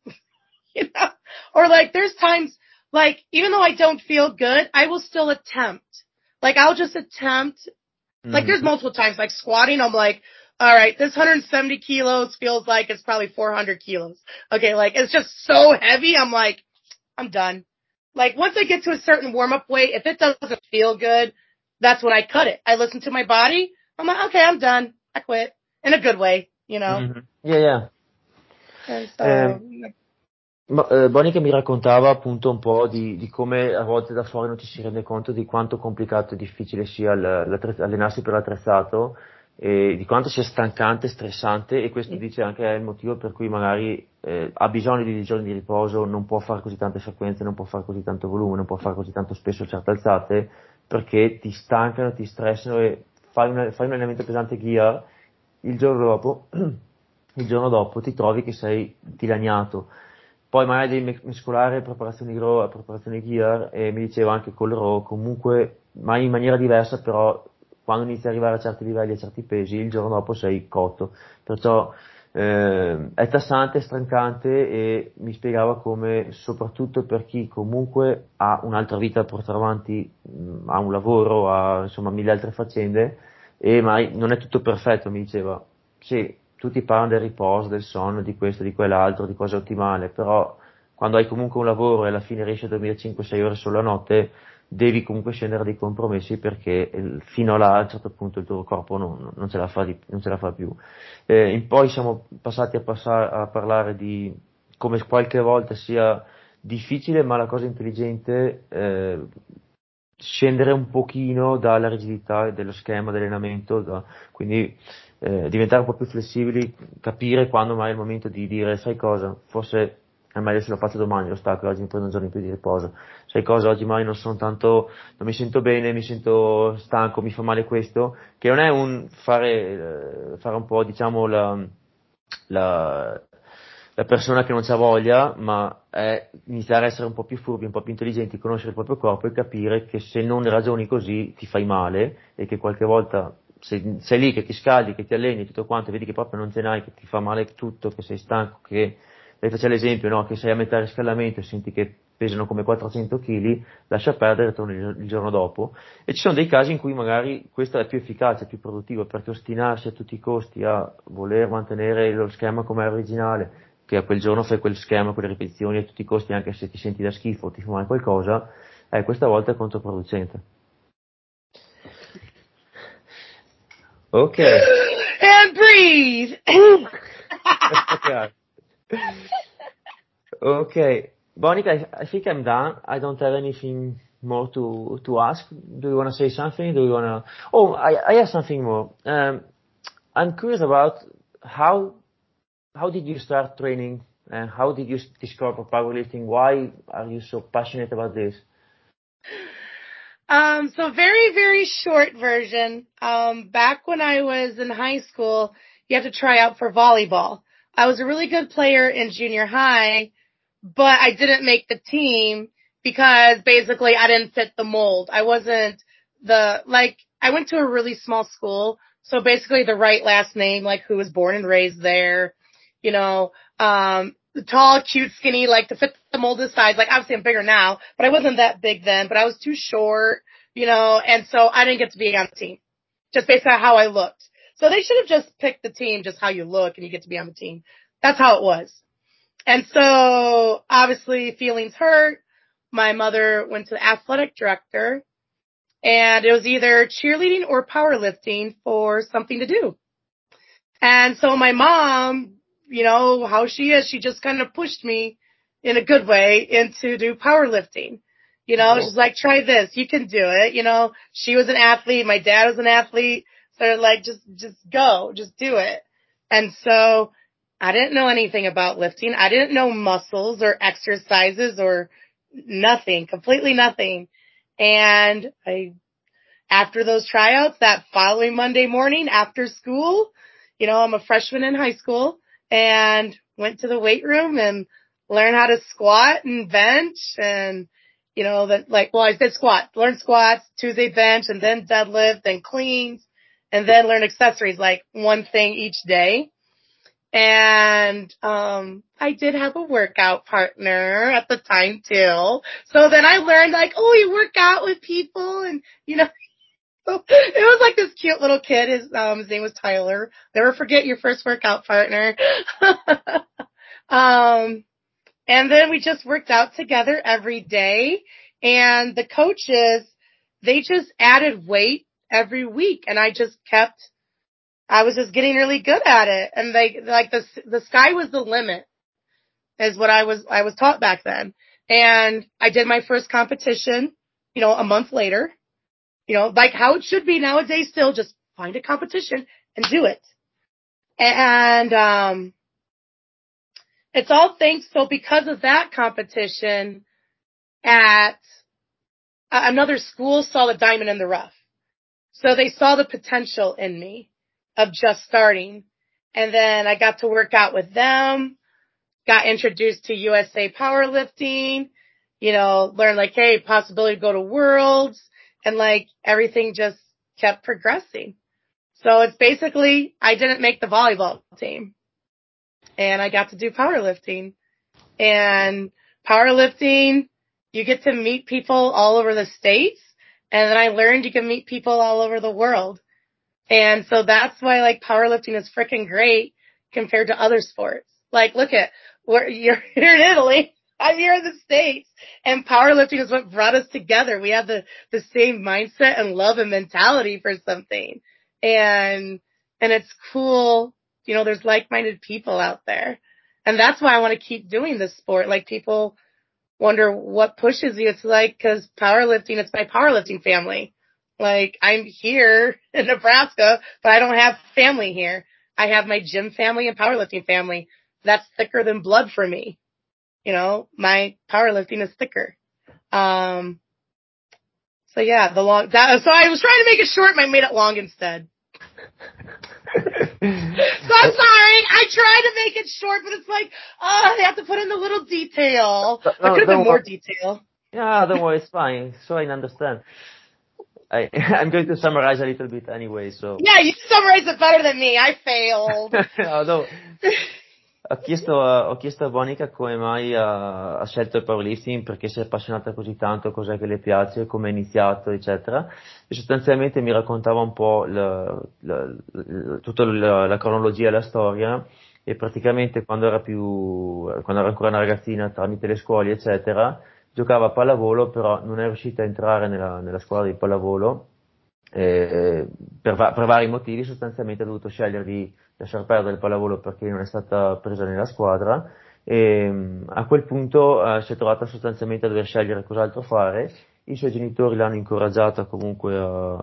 Or like there's times like even though I don't feel good, I will still attempt. Like I'll just attempt. Mm-hmm. Like there's multiple times like squatting. I'm like, all right, this 170 kilos feels like it's probably 400 kilos. Okay, like it's just so heavy. I'm like, I'm done. Like once I get to a certain warm up weight, if it doesn't feel good, that's when I cut it. I listen to my body. I'm like, okay, I'm done. I quit in a good way, Mm-hmm. Yeah. And so, Bonnie che mi raccontava appunto un po' di come a volte da fuori non ci si rende conto di quanto complicato e difficile sia allenarsi per l'attrezzato e di quanto sia stancante e stressante, e questo dice anche è il motivo per cui magari ha bisogno di giorni di riposo, non può fare così tante frequenze, non può fare così tanto volume, non può fare così tanto spesso certe alzate, perché ti stancano, ti stressano e fai un allenamento pesante gear, il giorno dopo ti trovi che sei dilaniato. Poi magari devi mescolare preparazioni raw e preparazioni gear, e mi diceva anche con le raw comunque, ma in maniera diversa, però quando inizi ad arrivare a certi livelli, a certi pesi, il giorno dopo sei cotto. Perciò è tassante, è stancante, e mi spiegava come soprattutto per chi comunque ha un'altra vita da portare avanti, ha un lavoro, ha insomma mille altre faccende, e mai non è tutto perfetto, mi diceva. Sì, tutti parlano del riposo, del sonno, di questo, di quell'altro, di cose ottimali, però quando hai comunque un lavoro e alla fine riesci a dormire 5-6 ore solo la notte, devi comunque scendere a dei compromessi, perché fino a là a un certo punto il tuo corpo non ce la fa più. In poi siamo passati a parlare di come qualche volta sia difficile, ma la cosa intelligente, scendere un pochino dalla rigidità dello schema di allenamento, quindi diventare un po' più flessibili, capire quando mai è il momento di dire, sai cosa, forse è meglio se lo faccio domani lo stacco, oggi mi prendo un giorno in più di riposo. Sai cosa, oggi mai non sono tanto, non mi sento bene, mi sento stanco, mi fa male questo, che non è un fare un po', diciamo, la, la persona che non c'ha voglia, ma è iniziare a essere un po' più furbi, un po' più intelligenti, conoscere il proprio corpo e capire che se non ragioni così ti fai male e che qualche volta sei lì che ti scaldi, che ti alleni e tutto quanto, e vedi che proprio non ce n'hai, che ti fa male tutto, che sei stanco, che lei faceva l'esempio, no? Che sei a metà riscaldamento e senti che pesano come 400 kg, lascia perdere e torni il giorno dopo. E ci sono dei casi in cui magari questo è più efficace, più produttivo, perché ostinarsi a tutti i costi a voler mantenere lo schema come è originale, che a quel giorno fai quel schema, quelle ripetizioni a tutti i costi, anche se ti senti da schifo o ti fa male qualcosa, questa volta è controproducente. Ok. And breathe. Okay. Monica, I think I'm done. I don't have anything more to ask. Do you wanna say something? Do you wanna... Oh, I have something more. I'm curious about how how did you start training, and how did you discover powerlifting? Why are you so passionate about this? So very, very short version. Back when I was in high school, you had to try out for volleyball. I was a really good player in junior high, but I didn't make the team because basically I didn't fit the mold. I wasn't I went to a really small school. So basically the right last name, like who was born and raised there, you know, tall, cute, skinny, like to fit the mold of size. Like obviously I'm bigger now, but I wasn't that big then, but I was too short, and so I didn't get to be on the team just based on how I looked. So they should have just picked the team just how you look and you get to be on the team. That's how it was. And so obviously feelings hurt. My mother went to the athletic director and it was either cheerleading or powerlifting for something to do. And so my mom, how she is, she just kind of pushed me in a good way into do powerlifting. Cool. She's like, try this. You can do it. She was an athlete. My dad was an athlete. So they're like, just go, just do it. And so I didn't know anything about lifting. I didn't know muscles or exercises or nothing, completely nothing. And after those tryouts, that following Monday morning after school, I'm a freshman in high school and went to the weight room and learned how to squat and bench and, I did squat, learned squats, Tuesday bench and then deadlift and cleans and then learn accessories, like one thing each day. And, I did have a workout partner at the time too. So then I learned you work out with people and, so it was like this cute little kid. His name was Tyler. Never forget your first workout partner. And then we just worked out together every day. And the coaches, they just added weight every week. And I was just getting really good at it. And the sky was the limit is what I was taught back then. And I did my first competition, a month later. Like how it should be nowadays still, just find a competition and do it. And, it's all thanks. So because of that competition at another school saw the diamond in the rough. So they saw the potential in me of just starting. And then I got to work out with them, got introduced to USA Powerlifting, learned hey, possibility to go to Worlds. And everything just kept progressing. So it's basically, I didn't make the volleyball team and I got to do powerlifting. And powerlifting, you get to meet people all over the States. And then I learned you can meet people all over the world. And so that's why powerlifting is freaking great compared to other sports. Look at you're here in Italy. I'm here in the States, and powerlifting is what brought us together. We have the same mindset and love and mentality for something. And it's cool. There's like-minded people out there. And that's why I want to keep doing this sport. People wonder what pushes you. It's cause powerlifting, it's my powerlifting family. I'm here in Nebraska, but I don't have family here. I have my gym family and powerlifting family. That's thicker than blood for me. my powerlifting is thicker. So yeah, so I was trying to make it short and I made it long instead. So I'm sorry. I tried to make it short, but it's like, they have to put in the little detail. There could have been more detail. Yeah, don't worry, it's fine. So I understand. I'm going to summarize a little bit anyway, so. Yeah, you summarized it better than me. I failed. No. Ho chiesto a Monica come mai ha scelto il powerlifting, perché si è appassionata così tanto, cos'è che le piace, come ha iniziato, eccetera. E sostanzialmente mi raccontava un po' tutta la cronologia e la storia, e praticamente quando era ancora una ragazzina, tramite le scuole, eccetera, giocava a pallavolo, però non è riuscita a entrare nella scuola di pallavolo, per vari motivi. Sostanzialmente ha dovuto scegliere di lasciar perdere il pallavolo perché non è stata presa nella squadra, e a quel punto si è trovata sostanzialmente a dover scegliere cos'altro fare. I suoi genitori l'hanno incoraggiata comunque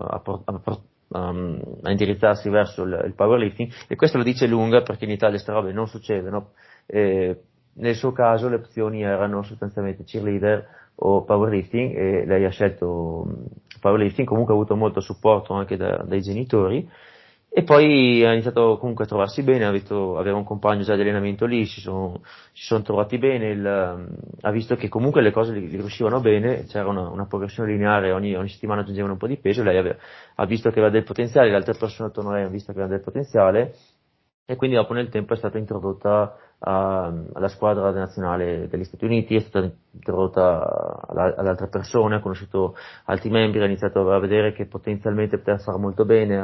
a indirizzarsi verso il powerlifting, e questo lo dice lunga perché in Italia queste robe non succedono. Nel suo caso le opzioni erano sostanzialmente cheerleader o powerlifting, e lei ha scelto powerlifting. Comunque ha avuto molto supporto anche dai genitori, e poi ha iniziato comunque a trovarsi bene, aveva un compagno già di allenamento lì, si sono trovati bene, ha visto che comunque le cose gli riuscivano bene, c'era una progressione lineare, ogni settimana aggiungevano un po' di peso, lei ha visto che aveva del potenziale, le altre persone attorno a lei hanno visto che aveva del potenziale, e quindi dopo nel tempo è stata introdotta alla squadra nazionale degli Stati Uniti, è stata introdotta ad altre persone, ha conosciuto altri membri, ha iniziato a vedere che potenzialmente poteva fare molto bene,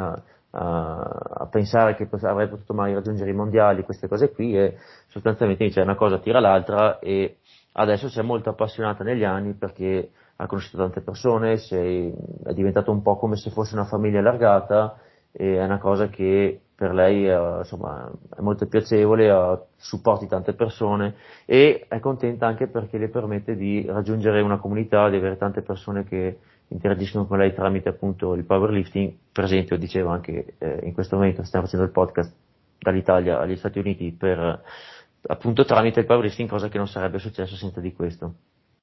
a pensare che avrei potuto mai raggiungere i mondiali, queste cose qui, e sostanzialmente dice una cosa tira l'altra, e adesso si è molto appassionata negli anni perché ha conosciuto tante persone, è diventato un po' come se fosse una famiglia allargata, e è una cosa che per lei insomma è molto piacevole, supporti tante persone, e è contenta anche perché le permette di raggiungere una comunità, di avere tante persone che interagiscono con lei tramite appunto il powerlifting. Per esempio, dicevo anche in questo momento stiamo facendo il podcast dall'Italia agli Stati Uniti appunto tramite il powerlifting, cosa che non sarebbe successo senza di questo.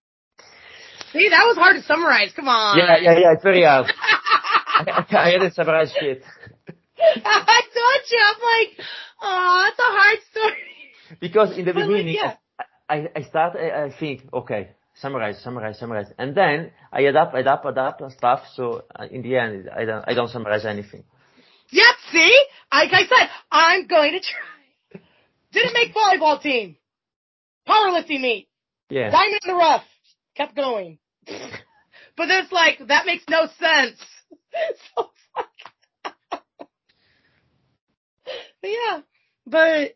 See, that was hard to summarize. Come on. Yeah, it's very hard. I had to summarize shit. I told you, I'm like, oh, it's a hard story. Because in the beginning, I start, I think, okay, summarize, and then I adapt stuff. So in the end, I don't summarize anything. Yep. See, like I said, I'm going to try. Didn't make volleyball team. Powerlifting meet. Yeah. Diamond in the rough. Kept going. But it's like, that makes no sense. So but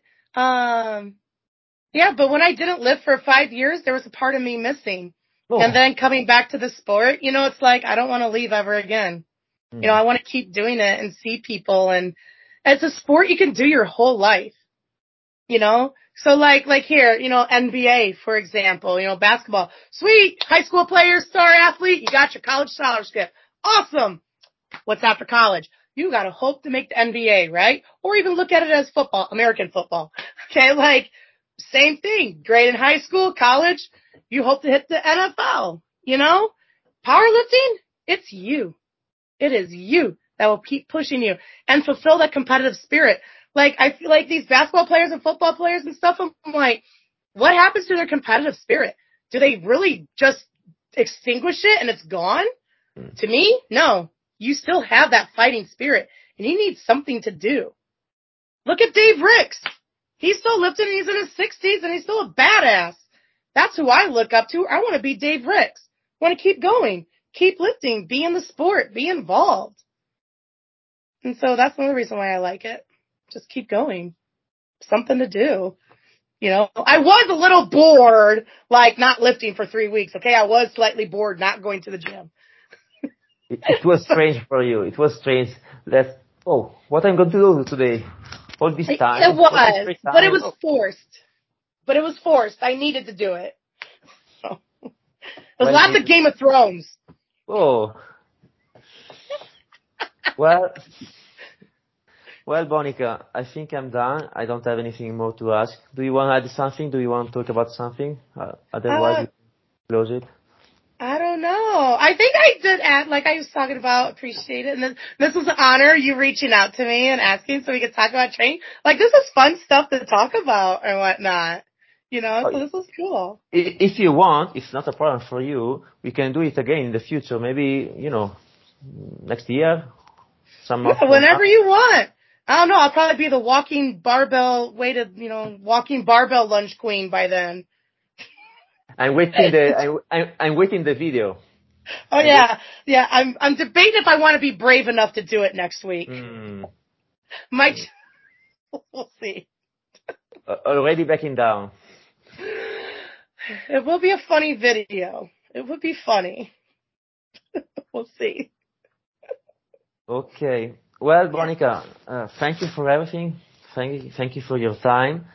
when I didn't live for 5 years, there was a part of me missing. Oh. And then coming back to the sport, it's like, I don't want to leave ever again. I want to keep doing it and see people, and it's a sport you can do your whole life, So like here, NBA, for example, basketball, sweet, high school player, star athlete, you got your college scholarship. Awesome. What's after college? You gotta hope to make the NBA, right? Or even look at it as football, American football. Okay, like, same thing. Great in high school, college, you hope to hit the NFL, Powerlifting, it's you. It is you that will keep pushing you and fulfill that competitive spirit. Like, I feel like these basketball players and football players and stuff, I'm like, what happens to their competitive spirit? Do they really just extinguish it and it's gone? To me, no. You still have that fighting spirit, and you need something to do. Look at Dave Ricks. He's still lifting, and he's in his 60s, and he's still a badass. That's who I look up to. I want to be Dave Ricks. I want to keep going, keep lifting, be in the sport, be involved. And so that's another reason why I like it. Just keep going. Something to do. I was a little bored, like not lifting for 3 weeks, okay? I was slightly bored not going to the gym. It was strange for you. It was strange that, what I'm going to do today? All this time. It was, but it was forced. I needed to do it. So. There's lots of Game of Thrones. Oh. Well, Well, Bonica, I think I'm done. I don't have anything more to ask. Do you want to add something? Do you want to talk about something? Otherwise, Uh, we close it. I don't know. I think I did add, like I was talking about, appreciate it. And this was an honor, you reaching out to me and asking so we could talk about training. Like, this is fun stuff to talk about and whatnot. So this was cool. If you want, it's not a problem for you. We can do it again in the future. Maybe, next year, some month Yeah, from now. whenever you want. I don't know. I'll probably be the walking barbell lunch queen by then. I'm waiting the video. Oh yeah. Yeah. I'm debating if I want to be brave enough to do it next week. Might, we'll see. Already backing down. It will be a funny video. It would be funny. We'll see. Okay. Well, Bonica, thank you for everything. Thank you for your time.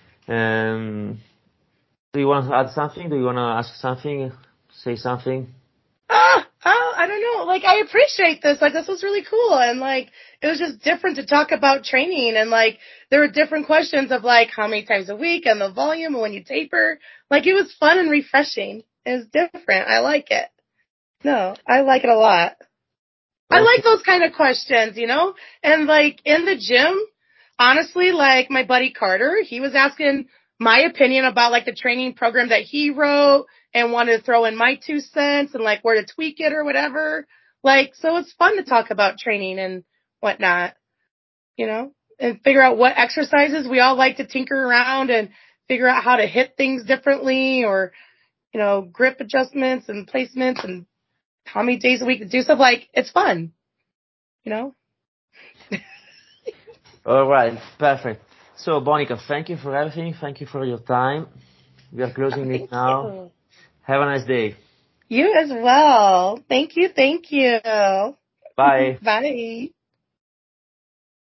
Do you want to add something? Do you want to ask something? Say something? I don't know. Like, I appreciate this. Like, this was really cool. And like, it was just different to talk about training. And like, there were different questions of like, how many times a week and the volume and when you taper. Like, it was fun and refreshing. It was different. I like it. No, I like it a lot. I like those kind of questions, And like, in the gym, honestly, like my buddy Carter, he was asking my opinion about like the training program that he wrote and wanted to throw in my 2 cents and like where to tweak it or whatever. Like, so it's fun to talk about training and whatnot, and figure out what exercises we all like to tinker around and figure out how to hit things differently or, grip adjustments and placements and how many days a week to do stuff. Like, it's fun, All right. Perfect. So, Bonica, thank you for everything. Thank you for your time. We are closing it now. You. Have a nice day. You as well. Thank you. Thank you. Bye. Bye.